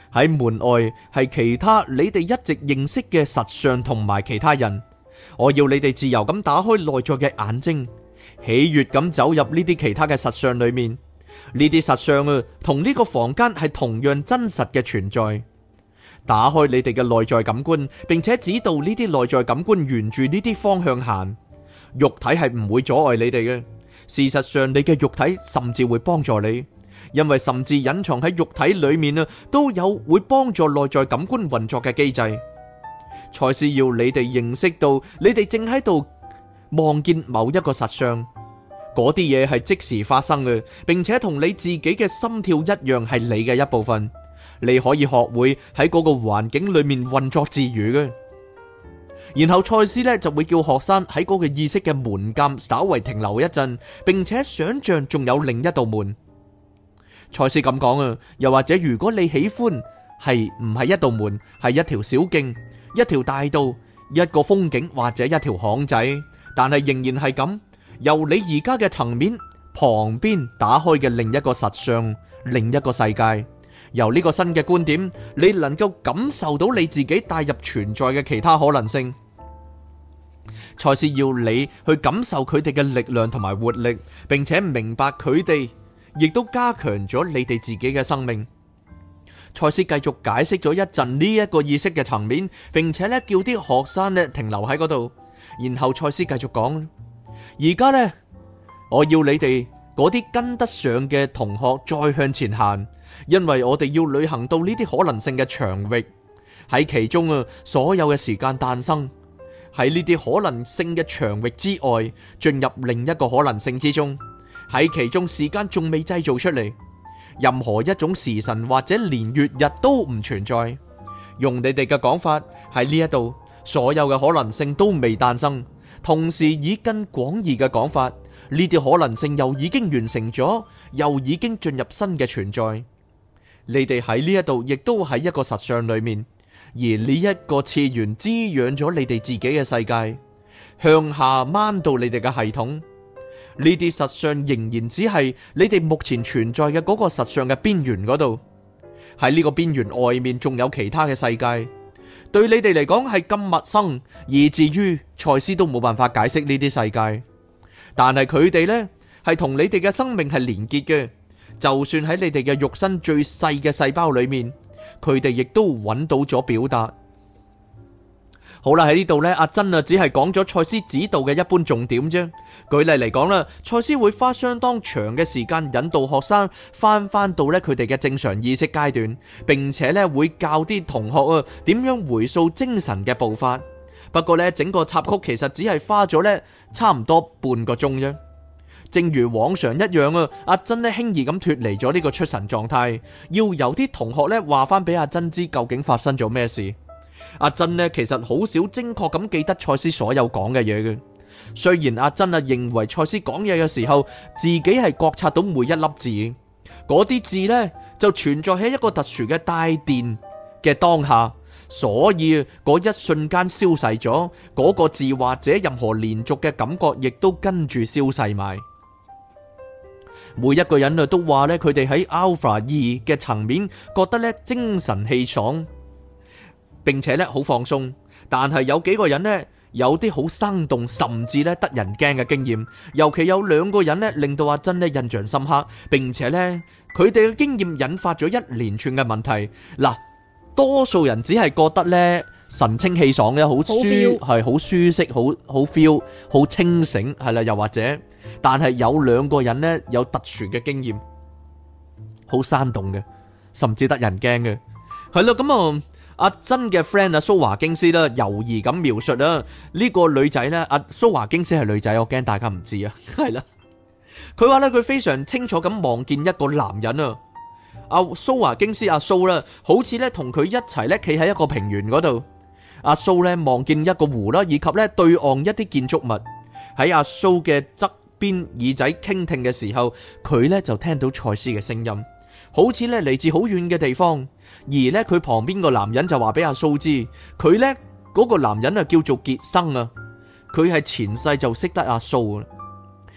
喺門外係其他你哋一直認識嘅實相同埋其他人。我要你哋自由咁打開內在嘅眼睛，喜悅咁走入呢啲其他嘅實相裏面。呢啲實相啊，同呢個房間係同樣真實嘅存在。打開你哋嘅內在感官，並且指導呢啲內在感官沿住呢啲方向行。肉體係唔會阻礙你哋嘅。事實上，你嘅肉體甚至會幫助你，因為甚至隱藏喺肉體裏面啊，都有會幫助內在感官運作嘅機制。賽斯要你哋認識到，你哋正喺度望見某一個實相，嗰啲嘢係即時發生嘅，並且同你自己嘅心跳一樣係你嘅一部分。你可以學會喺嗰個環境裏面運作自如嘅。然後賽斯呢就會叫學生喺嗰個意識嘅門檻稍為停留一陣，並且想象仲有另一道門。賽斯咁講啊，又或者如果你喜歡係唔係一道門，係一條小徑、一條大道、一個風景或者一條巷仔，但係仍然係咁，由你而家嘅層面旁邊打開嘅另一個實相、另一個世界。由呢個新嘅觀點，你能夠感受到你自己帶入存在嘅其他可能性。賽斯要你去感受佢哋嘅力量同埋活力，並且明白佢哋亦都加強咗你哋自己嘅生命。賽斯繼續解釋咗一陣呢一個意識嘅層面，並且咧叫啲學生咧停留喺嗰度。然後賽斯繼續講：而家呢，我要你哋嗰啲跟得上嘅同學再向前行。因為我哋要旅行到呢啲可能性嘅場域，喺其中啊，所有嘅時間誕生喺呢啲可能性嘅場域之外，進入另一個可能性之中。喺其中時間仲未製造出嚟，任何一種時辰或者年月日都唔存在。用你哋嘅講法，喺呢一度，所有嘅可能性都未誕生。同時以更廣義嘅講法，呢啲可能性又已經完成咗，又已經進入新嘅存在。你哋喺呢一度，亦都喺一個實相裏面，而呢一個次元滋養咗你哋自己嘅世界，向下掹到你哋嘅系統。呢啲實相仍然只係你哋目前存在嘅嗰個實相嘅邊緣嗰度。喺呢個邊緣外面，仲有其他嘅世界，對你哋嚟講係咁陌生，以至於賽斯都冇辦法解釋呢啲世界。但係佢哋呢，係同你哋嘅生命係連結嘅。就算喺你哋嘅肉身最細嘅細胞裏面，佢哋亦都揾到咗表達。好啦，喺呢度呢，阿珍啊，只係講咗賽斯指導嘅一般重點啫。舉例嚟講啦，賽斯會花相當長嘅時間引導學生翻到呢佢哋嘅正常意識階段，並且呢會教啲同學啊點樣回溯精神嘅步伐。不過呢，整個插曲其實只係花咗呢差唔多半個鐘啫。正如往常一樣啊，阿珍呢輕易咁脫離咗呢個出神狀態，要由啲同學呢話翻俾阿珍知究竟發生咗咩事。阿珍呢其實好少精確咁記得賽斯所有講嘅嘢嘅。雖然阿珍啊認為賽斯講嘢嘅時候，自己係覺察到每一粒字，嗰啲字呢就存在喺一個特殊嘅帶電嘅當下，所以嗰一瞬間消逝咗，嗰個字或者任何連續嘅感覺亦都跟住消逝埋。每一個人啊都話咧，佢哋喺 Alpha 2嘅層面覺得咧精神氣爽，並且咧好放鬆。但係有幾個人咧有啲好生動，甚至咧得人驚嘅經驗。尤其有兩個人咧令到阿珍咧印象深刻，並且咧佢哋嘅經驗引發咗一連串嘅問題。嗱，多數人只係覺得咧神清氣爽嘅，好舒適，好 feel， 好清醒，係啦，又或者。但係有兩個人呢，有特殊嘅經驗，好生動嘅，甚至得人驚嘅，係咯。咁啊，阿珍嘅 friend 阿蘇華京斯啦，猶豫咁描述啦，呢個女仔呢，阿蘇華京斯係女仔，我驚大家唔知啊，係啦。佢話呢，佢非常清楚咁望見一個男人啊，阿蘇華京斯阿蘇啦，好似呢同佢一齊呢企喺一個平原嗰度。阿蘇呢望見一個湖啦，以及呢對岸一啲建築物。喺阿蘇嘅側邊耳仔傾聽嘅時候，佢呢就聽到賽斯嘅聲音，好似呢嚟自好遠嘅地方。而呢佢旁邊個男人就話俾阿蘇知，佢呢嗰個男人啊叫做傑生啊，佢係前世就識得阿蘇啊。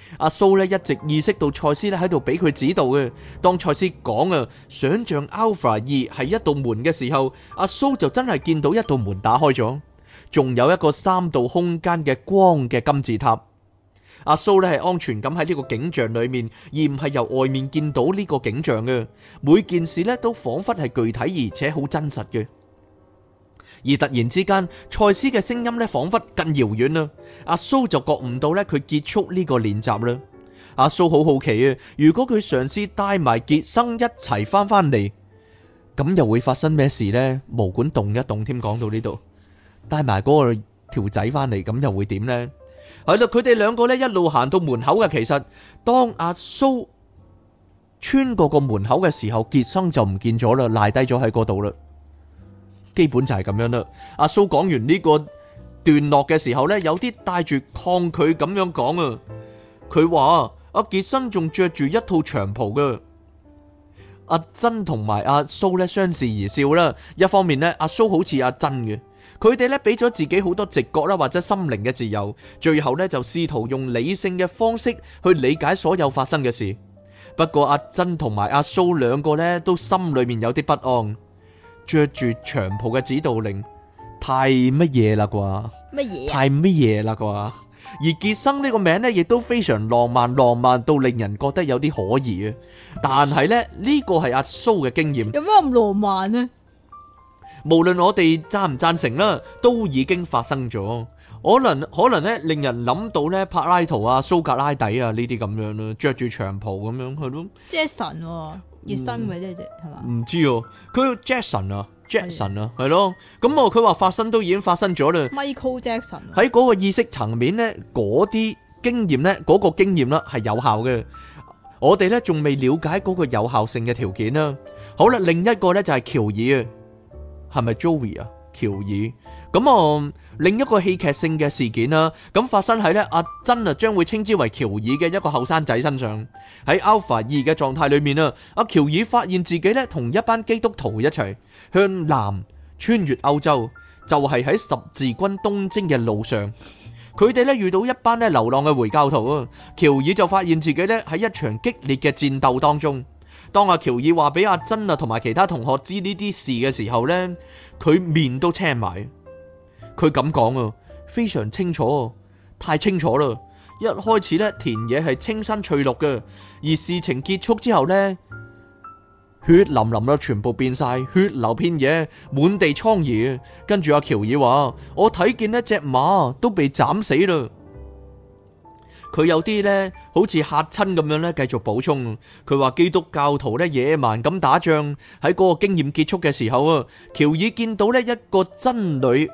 阿蘇咧一直意識到賽斯咧喺度俾佢指導嘅。當賽斯講啊，想象 Alpha 2係一道門嘅時候，阿蘇就真係見到一道門打開咗，仲有一個3度空間嘅光嘅金字塔。阿蘇咧係安全咁喺呢個景象裏面，而唔係由外面見到呢個景象嘅。每件事咧都仿佛係具體而且好真實嘅。而突然之間，賽斯嘅聲音咧仿佛更遙遠啦。阿蘇就覺悟到咧佢結束呢個練習啦。阿蘇好好奇啊，如果佢嘗試帶埋傑生一齊翻嚟，咁又會發生咩事呢？毛管動一動添，講到呢度，帶埋嗰個條仔翻嚟，咁又會點呢？係啦，佢哋兩個咧一路行到門口嘅。其實當阿蘇穿過個門口嘅時候，傑生就唔見咗啦，賴低咗喺嗰度啦。基本就係咁樣啦。阿蘇講完呢個段落嘅時候呢，有啲帶住抗拒咁樣講啊。佢話阿傑生仲着住一套長袍噶。阿珍同埋阿蘇呢相視而笑啦。一方面呢，阿蘇好似阿珍嘅，佢哋呢俾咗自己好多直覺啦或者心靈嘅自由，最後呢就試圖用理性嘅方式去理解所有發生嘅事。不過阿珍同埋阿蘇兩個呢都心裏面有啲不安。着住長袍嘅指導令，太乜嘢啦啩？乜嘢？太乜嘢啦啩？而傑生呢個名呢，亦都非常浪漫，浪漫到令人覺得有啲可疑啊！但係呢，呢個係阿蘇嘅經驗。有咩咁浪漫呢？無論我哋贊唔贊成啦，都已經發生咗。可能咧，令人諗到咧，柏拉圖啊、蘇格拉底啊呢啲咁樣咯，着住長袍咁樣係咯。Jackson 傑生咪即係係嘛？唔知哦，佢 Jackson 啊，係咯。咁佢話發生都已經發生咗啦。Michael Jackson 喺嗰個意識層面咧，嗰啲經驗咧，嗰個經驗啦係有效嘅。我哋咧仲未了解嗰個有效性嘅條件啦。好啦，另一個咧就係喬爾啊，係咪 Joey 啊？喬爾咁另一個戲劇性嘅事件啦，咁發生喺咧阿珍啊，將會稱之為喬爾嘅一個後生仔身上。喺 Alpha 2嘅狀態裏面啊，阿喬爾發現自己咧同一班基督徒一齊向南穿越歐洲，就係喺十字軍東征嘅路上。佢哋咧遇到一班咧流浪嘅回教徒啊，喬爾就發現自己咧喺一場激烈嘅戰鬥當中。當阿喬爾話俾阿珍啊同埋其他同學知呢啲事嘅時候呢，佢面都青埋。佢咁講啊，非常清楚，太清楚啦。一開始呢，田野係清新翠綠嘅，而事情結束之後呢，血淋淋啦，全部變晒，血流遍野，滿地瘡痍。跟住阿喬爾話：我睇見一隻馬都被斬死啦。佢有啲呢好似嚇親咁樣呢，繼續補充。佢話基督教徒呢野蠻咁打仗，喺嗰個經驗結束嘅時候啊，喬爾見到呢一個僧侶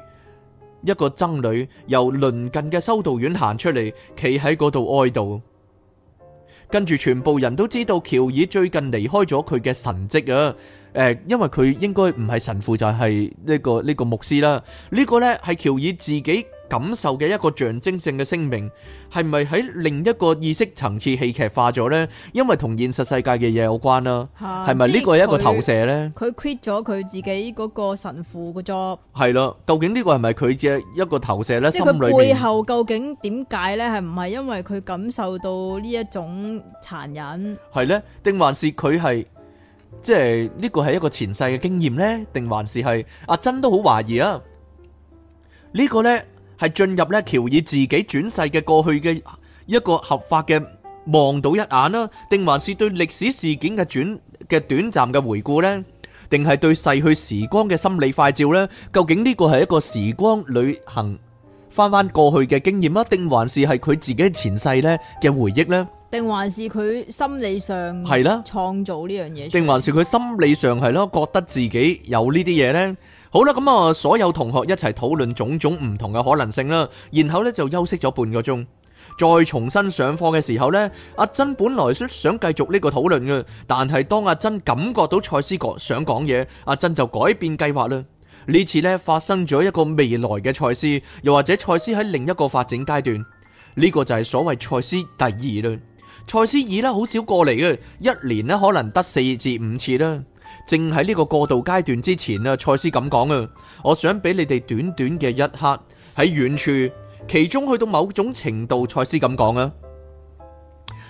由鄰近嘅修道院行出嚟，企喺嗰度哀悼。跟住全部人都知道喬爾最近離開咗佢嘅神蹟啊！因為佢應該唔係神父，就係呢個牧師啦。呢個呢係喬爾自己感受嘅一個象徵性嘅聲明，係咪喺另一個意識層次戲劇化咗呢？因為同現實世界嘅嘢有關啦，係咪呢個係一個投射呢？佢 quit 咗佢自己嗰個神父嘅 job，係啦。究竟呢個係咪佢嘅一個投射呢？即係佢背後究竟點解呢？係唔係因為佢感受到呢一種殘忍？係呢？定還是佢係即係呢個係一個前世嘅經驗呢？定還是係阿珍都好懷疑啊？呢個呢？係進入咧喬爾自己轉世嘅過去嘅一個合法嘅望到一眼啦，定還是對歷史事件嘅短暫嘅回顧呢？定係對逝去時光嘅心理快照呢？究竟呢個係一個時光旅行翻過去嘅經驗啊，定還是係佢自己前世咧嘅回憶呢？定還是佢心理上係啦創造呢樣嘢？定還是佢心理上係咯覺得自己有呢啲嘢呢？好啦，咁啊，所有同學一齊討論種種唔同嘅可能性啦，然後咧就休息咗半個鐘，再重新上課嘅時候呢，阿珍本來想繼續呢個討論嘅，但係當阿珍感覺到賽斯想講嘢，阿珍就改變計劃啦。呢次呢發生咗一個未來嘅賽斯，又或者賽斯喺另一個發展階段，呢個就係所謂賽斯第二啦。賽斯二啦，好少過嚟嘅，一年呢可能得4至5次啦。正喺呢個過渡階段之前啊，賽斯咁講啊，我想俾你哋短短嘅一刻喺遠處，其中去到某種程度，賽斯咁講啊，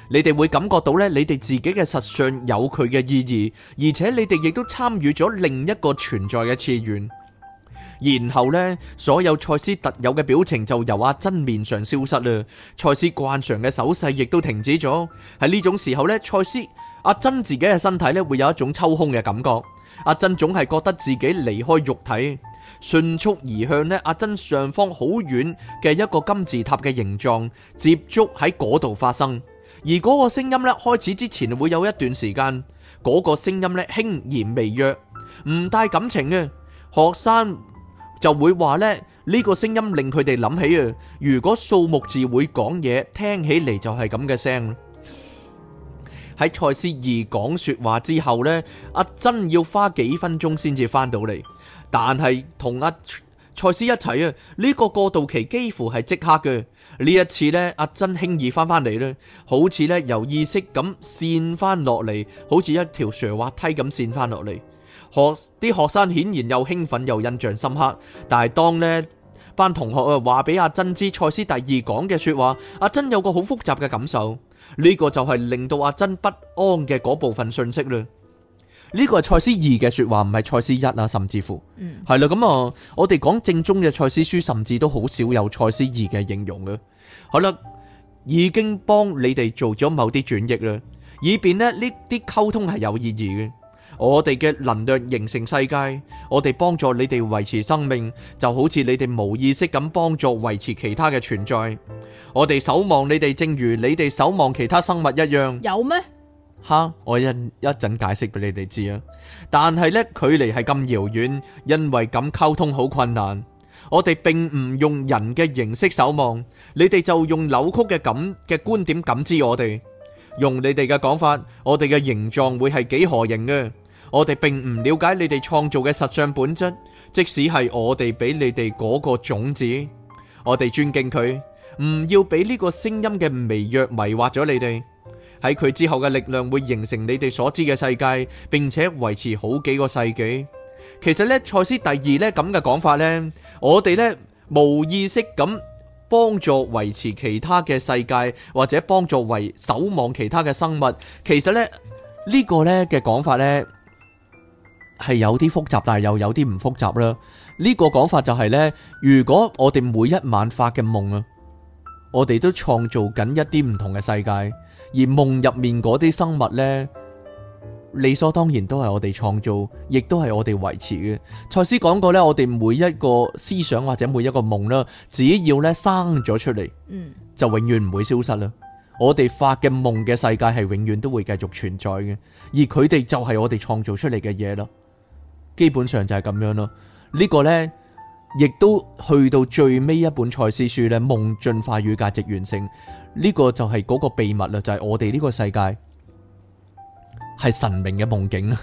你哋會感覺到咧，你哋自己嘅實相有佢嘅意義，而且你哋亦都參與咗另一個存在嘅次元。然後呢，所有賽斯特有嘅表情就由阿珍面上消失啦，賽斯慣常嘅手勢亦都停止咗。喺呢種時候呢，賽斯阿珍自己嘅身體呢會有一種抽空嘅感覺。阿珍總係覺得自己離開肉體，迅速移向呢阿珍上方好遠嘅一個金字塔嘅形狀，接觸喺嗰度發生。而嗰個聲音呢，開始之前會有一段時間，嗰個聲音呢輕而微弱，唔帶感情嘅。學生就會話呢個聲音令佢哋諗起啊，如果數目字會講嘢，聽起嚟就係咁嘅聲。喺賽斯二講說話之後呢，阿珍要花幾分鐘先至翻到嚟，但係同阿賽斯一齊啊，呢個過渡期幾乎係即刻嘅。呢一次呢，阿珍輕易翻返嚟咧，好似呢由意識咁線翻落嚟，好似一條斜滑梯咁線翻落嚟。啲學生顯然又興奮又印象深刻，但係當呢班同學啊話俾阿珍知賽斯第二講嘅說話，阿珍有個好複雜嘅感受，呢個就係令到阿珍不安嘅嗰部分信息啦。呢個係賽斯二嘅說話，唔係賽斯一啊，甚至乎係啦。咁啊，我哋講正宗嘅賽斯書，甚至都好少有賽斯二嘅形容嘅。好啦，已經幫你哋做咗某啲轉譯啦，以便呢啲溝通係有意義嘅。我哋嘅能量形成世界，我哋幫助你哋維持生命，就好似你哋無意識咁幫助維持其他嘅存在。我哋守望你哋，正如你哋守望其他生物一樣。 有咩？ 吓，我一陣解釋俾你哋知啊。但係呢，距離係咁遙遠，因為咁溝通好困難。我哋並唔用人嘅形式守望，你哋就用扭曲嘅觀點感知我哋。用你哋嘅講法，我哋嘅形狀會係幾何形嘅。我哋並唔了解你哋創造嘅實相本質，即使係我哋俾你哋嗰個種子，我哋尊敬佢，唔要俾呢個聲音嘅微弱迷惑咗你哋。喺佢之後嘅力量會形成你哋所知嘅世界，並且維持好幾個世紀。其實呢，賽斯第二呢咁嘅講法呢，我哋呢無意識咁幫助維持其他嘅世界，或者幫助守望其他嘅生物。其實呢，呢個呢嘅講法呢係有啲複雜，但係又有啲唔複雜啦。呢個講法就係呢，如果我哋每一晚發嘅夢啊，我哋都創造緊一啲唔同嘅世界，而夢入面嗰啲生物呢，理所當然都係我哋創造，亦都係我哋維持嘅。賽斯講過呢，我哋每一個思想或者每一個夢啦，只要呢生咗出嚟，就永遠唔會消失啦。我哋發嘅夢嘅世界係永遠都會繼續存在嘅，而佢哋就係我哋創造出嚟嘅嘢啦。基本上就係咁樣咯。呢個呢，亦都去到最尾一本賽斯書呢，夢進化與價值完成。呢個就係嗰個秘密啦，就係我哋呢個世界係神明嘅夢境啊，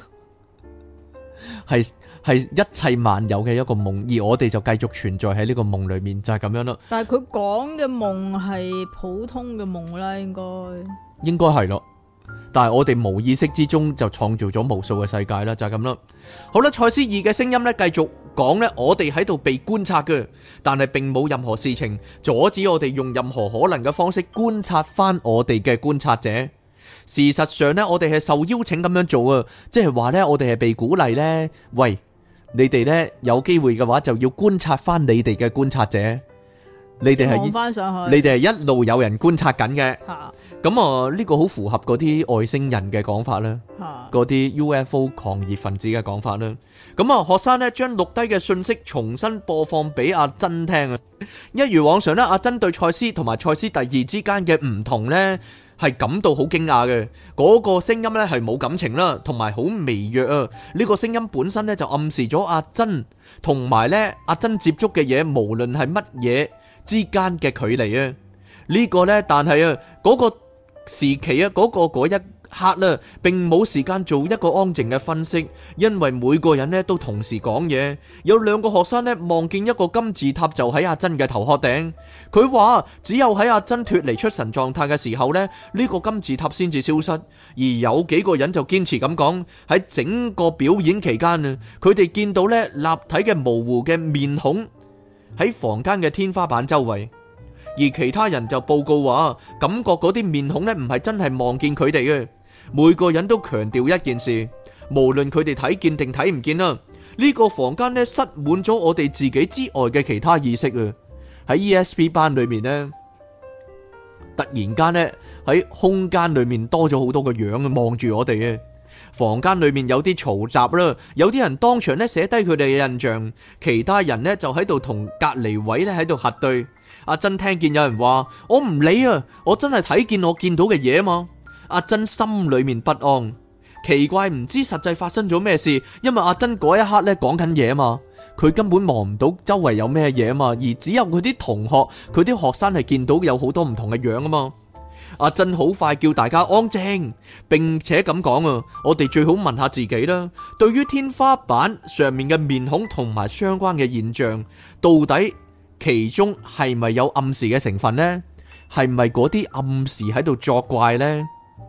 係一切萬有嘅一個夢，而我哋就繼續存在喺呢個夢裏面，就係咁樣咯。但係佢講嘅夢係普通嘅夢啦，應該係咯。但係我哋無意識之中就創造咗無數嘅世界啦，就係咁啦。好啦，賽斯二嘅聲音呢，繼續講呢，我哋喺度被觀察嘅，但係並冇任何事情阻止我哋用任何可能嘅方式觀察翻我哋嘅觀察者。事實上呢，我哋係受邀請咁樣做啊，即係話呢，我哋係被鼓勵呢：「喂，你哋呢，有機會嘅話就要觀察翻你哋嘅觀察者，你哋係一路有人觀察緊嘅。咁啊，呢個好符合嗰啲外星人嘅講法啦，嗰啲 UFO 狂熱分子嘅講法啦。咁啊，學生呢將錄低嘅信息重新播放俾阿珍聽啊。一如往常呢，阿珍對賽斯同埋賽斯第二之間嘅唔同呢係感到好驚訝嘅。嗰個聲音呢係冇感情啦，同埋好微弱啊。呢個聲音本身呢就暗示咗阿珍同埋呢阿珍接觸嘅嘢，無論係乜嘢之間嘅距離啊。呢個呢，但係啊嗰個時期啊，嗰一刻啦，並冇時間做一個安靜嘅分析，因為每個人呢都同時講嘢。有兩個學生呢望見一個金字塔就喺阿珍嘅頭殼頂，佢話只有喺阿珍脫離出神狀態嘅時候呢，呢個金字塔先至消失。而有幾個人就堅持咁講，喺整個表演期間啊，佢哋見到呢立體嘅模糊嘅面孔喺房間嘅天花板周圍。 而其他人就報告話，感覺嗰啲面孔呢唔係真係望見佢哋嘅。每個人都強調一件事，無論佢哋睇見定睇唔見啦，呢個房間呢塞滿咗我哋自己之外嘅其他意識啊！喺 ESP 班裏面呢，突然間呢喺空間裏面多咗好多個樣望住我哋啊！房間裏面有啲嘈雜啦，有啲人當場呢寫低佢哋嘅印象，其他人呢就喺度同隔離位呢喺度核對。阿珍聽見有人話：我唔理啊，我真係睇見我見到嘅嘢啊嘛！阿珍心裏面不安，奇怪唔知實際發生咗咩事，因為阿珍嗰一刻呢講緊嘢啊嘛，佢根本望唔到周圍有咩嘢啊嘛，而只有佢啲同學、佢啲學生係見到有好多唔同嘅樣啊嘛。阿珍好快叫大家安靜，並且咁講啊，我哋最好問下自己啦，對於天花板上面嘅面孔同埋相關嘅現象，到底其中係咪有暗示嘅成分呢？係咪嗰啲暗示喺度作怪呢？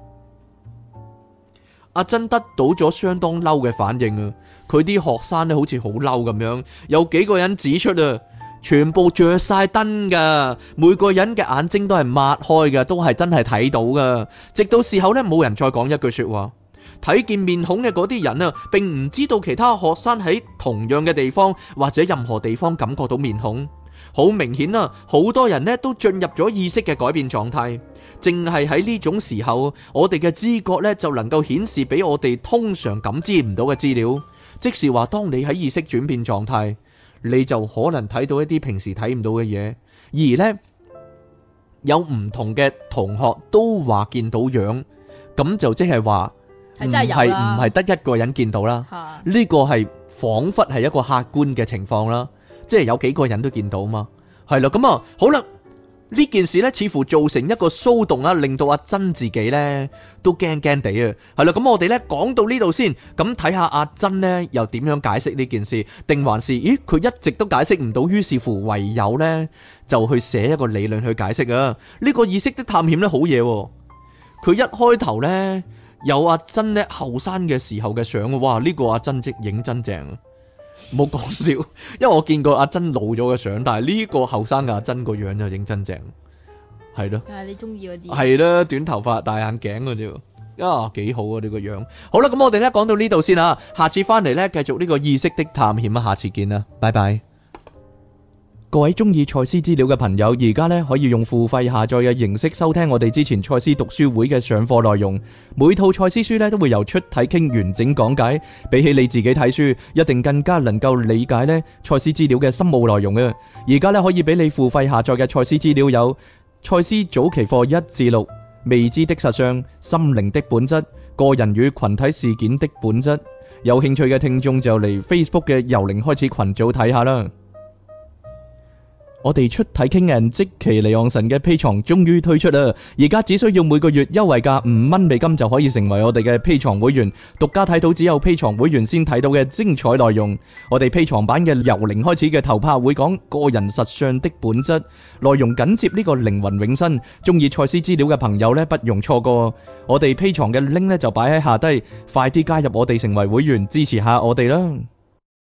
阿珍得到咗相當嬲嘅反應啊！佢啲學生咧好似好嬲咁樣，有幾個人指出啊，全部着晒燈噶，每個人嘅眼睛都係擘開嘅，都係真係睇到噶。直到事後咧，冇人再講一句說話。睇見面孔嘅嗰啲人啊，並唔知道其他學生喺同樣嘅地方或者任何地方感覺到面孔。好明顯啊，好多人咧都進入咗意識嘅改變狀態。正係喺呢種時候，我哋嘅知覺咧就能夠顯示俾我哋通常感知唔到嘅資料。即是話，當你喺意識轉變狀態，你就可能睇到一啲平時睇唔到嘅嘢。而呢，有唔同嘅同學都話見到樣，咁就即係話唔係得一個人見到啦。呢個係仿佛係一個客觀嘅情況啦，即係有幾個人都見到嘛。係啦，咁啊，好啦。呢件事呢，似乎造成一個騷動啦，令到阿珍自己呢都驚驚地啊。係啦，咁我哋呢講到呢度先，咁睇下阿珍呢又點樣解釋呢件事，定還是咦佢一直都解釋唔到，於是乎唯有呢就去寫一個理論去解釋啊。呢個意識的探險呢好嘢，佢一開頭呢有阿珍呢後生嘅時候嘅相，哇！呢個阿珍即影真正啊！冇講笑，因為我見過阿珍老咗嘅相，但係呢個後生嘅阿珍個樣就影真正，係咯。但係你中意嗰啲係啦，短頭髮、大眼鏡嗰啲，啊幾好啊呢個樣。好啦，咁我哋咧講到呢度先啊，下次翻嚟咧繼續呢個意識的探險啊，下次見啦，拜拜。各位中意賽斯資料嘅朋友，而家咧可以用付費下載嘅形式收聽我哋之前賽斯讀書會嘅上課內容。每套賽斯書咧都會由出體傾完整講解，比起你自己睇書，一定更加能夠理解咧賽斯資料嘅深奧內容嘅。而家咧可以俾你付費下載嘅賽斯資料有賽斯早期課1至6、未知的實相、心靈的本質、個人與群體事件的本質。有興趣嘅聽眾就嚟 Facebook 嘅由零開始群組睇下啦。我哋出體傾人即其離岸神嘅 Patreon 終於推出啦！而家只需要每個月優惠價5蚊美金就可以成為我哋嘅 Patreon 會員，獨家睇到只有 Patreon 會員先睇到嘅精彩內容。我哋 Patreon 版嘅由零開始嘅頭拍會講個人實相的本質，內容緊接呢個靈魂永生。中意賽斯資料嘅朋友呢，不容錯過。我哋 Patreon 嘅 link 呢就擺喺下低，快啲加入我哋成為會員，支持下我哋啦！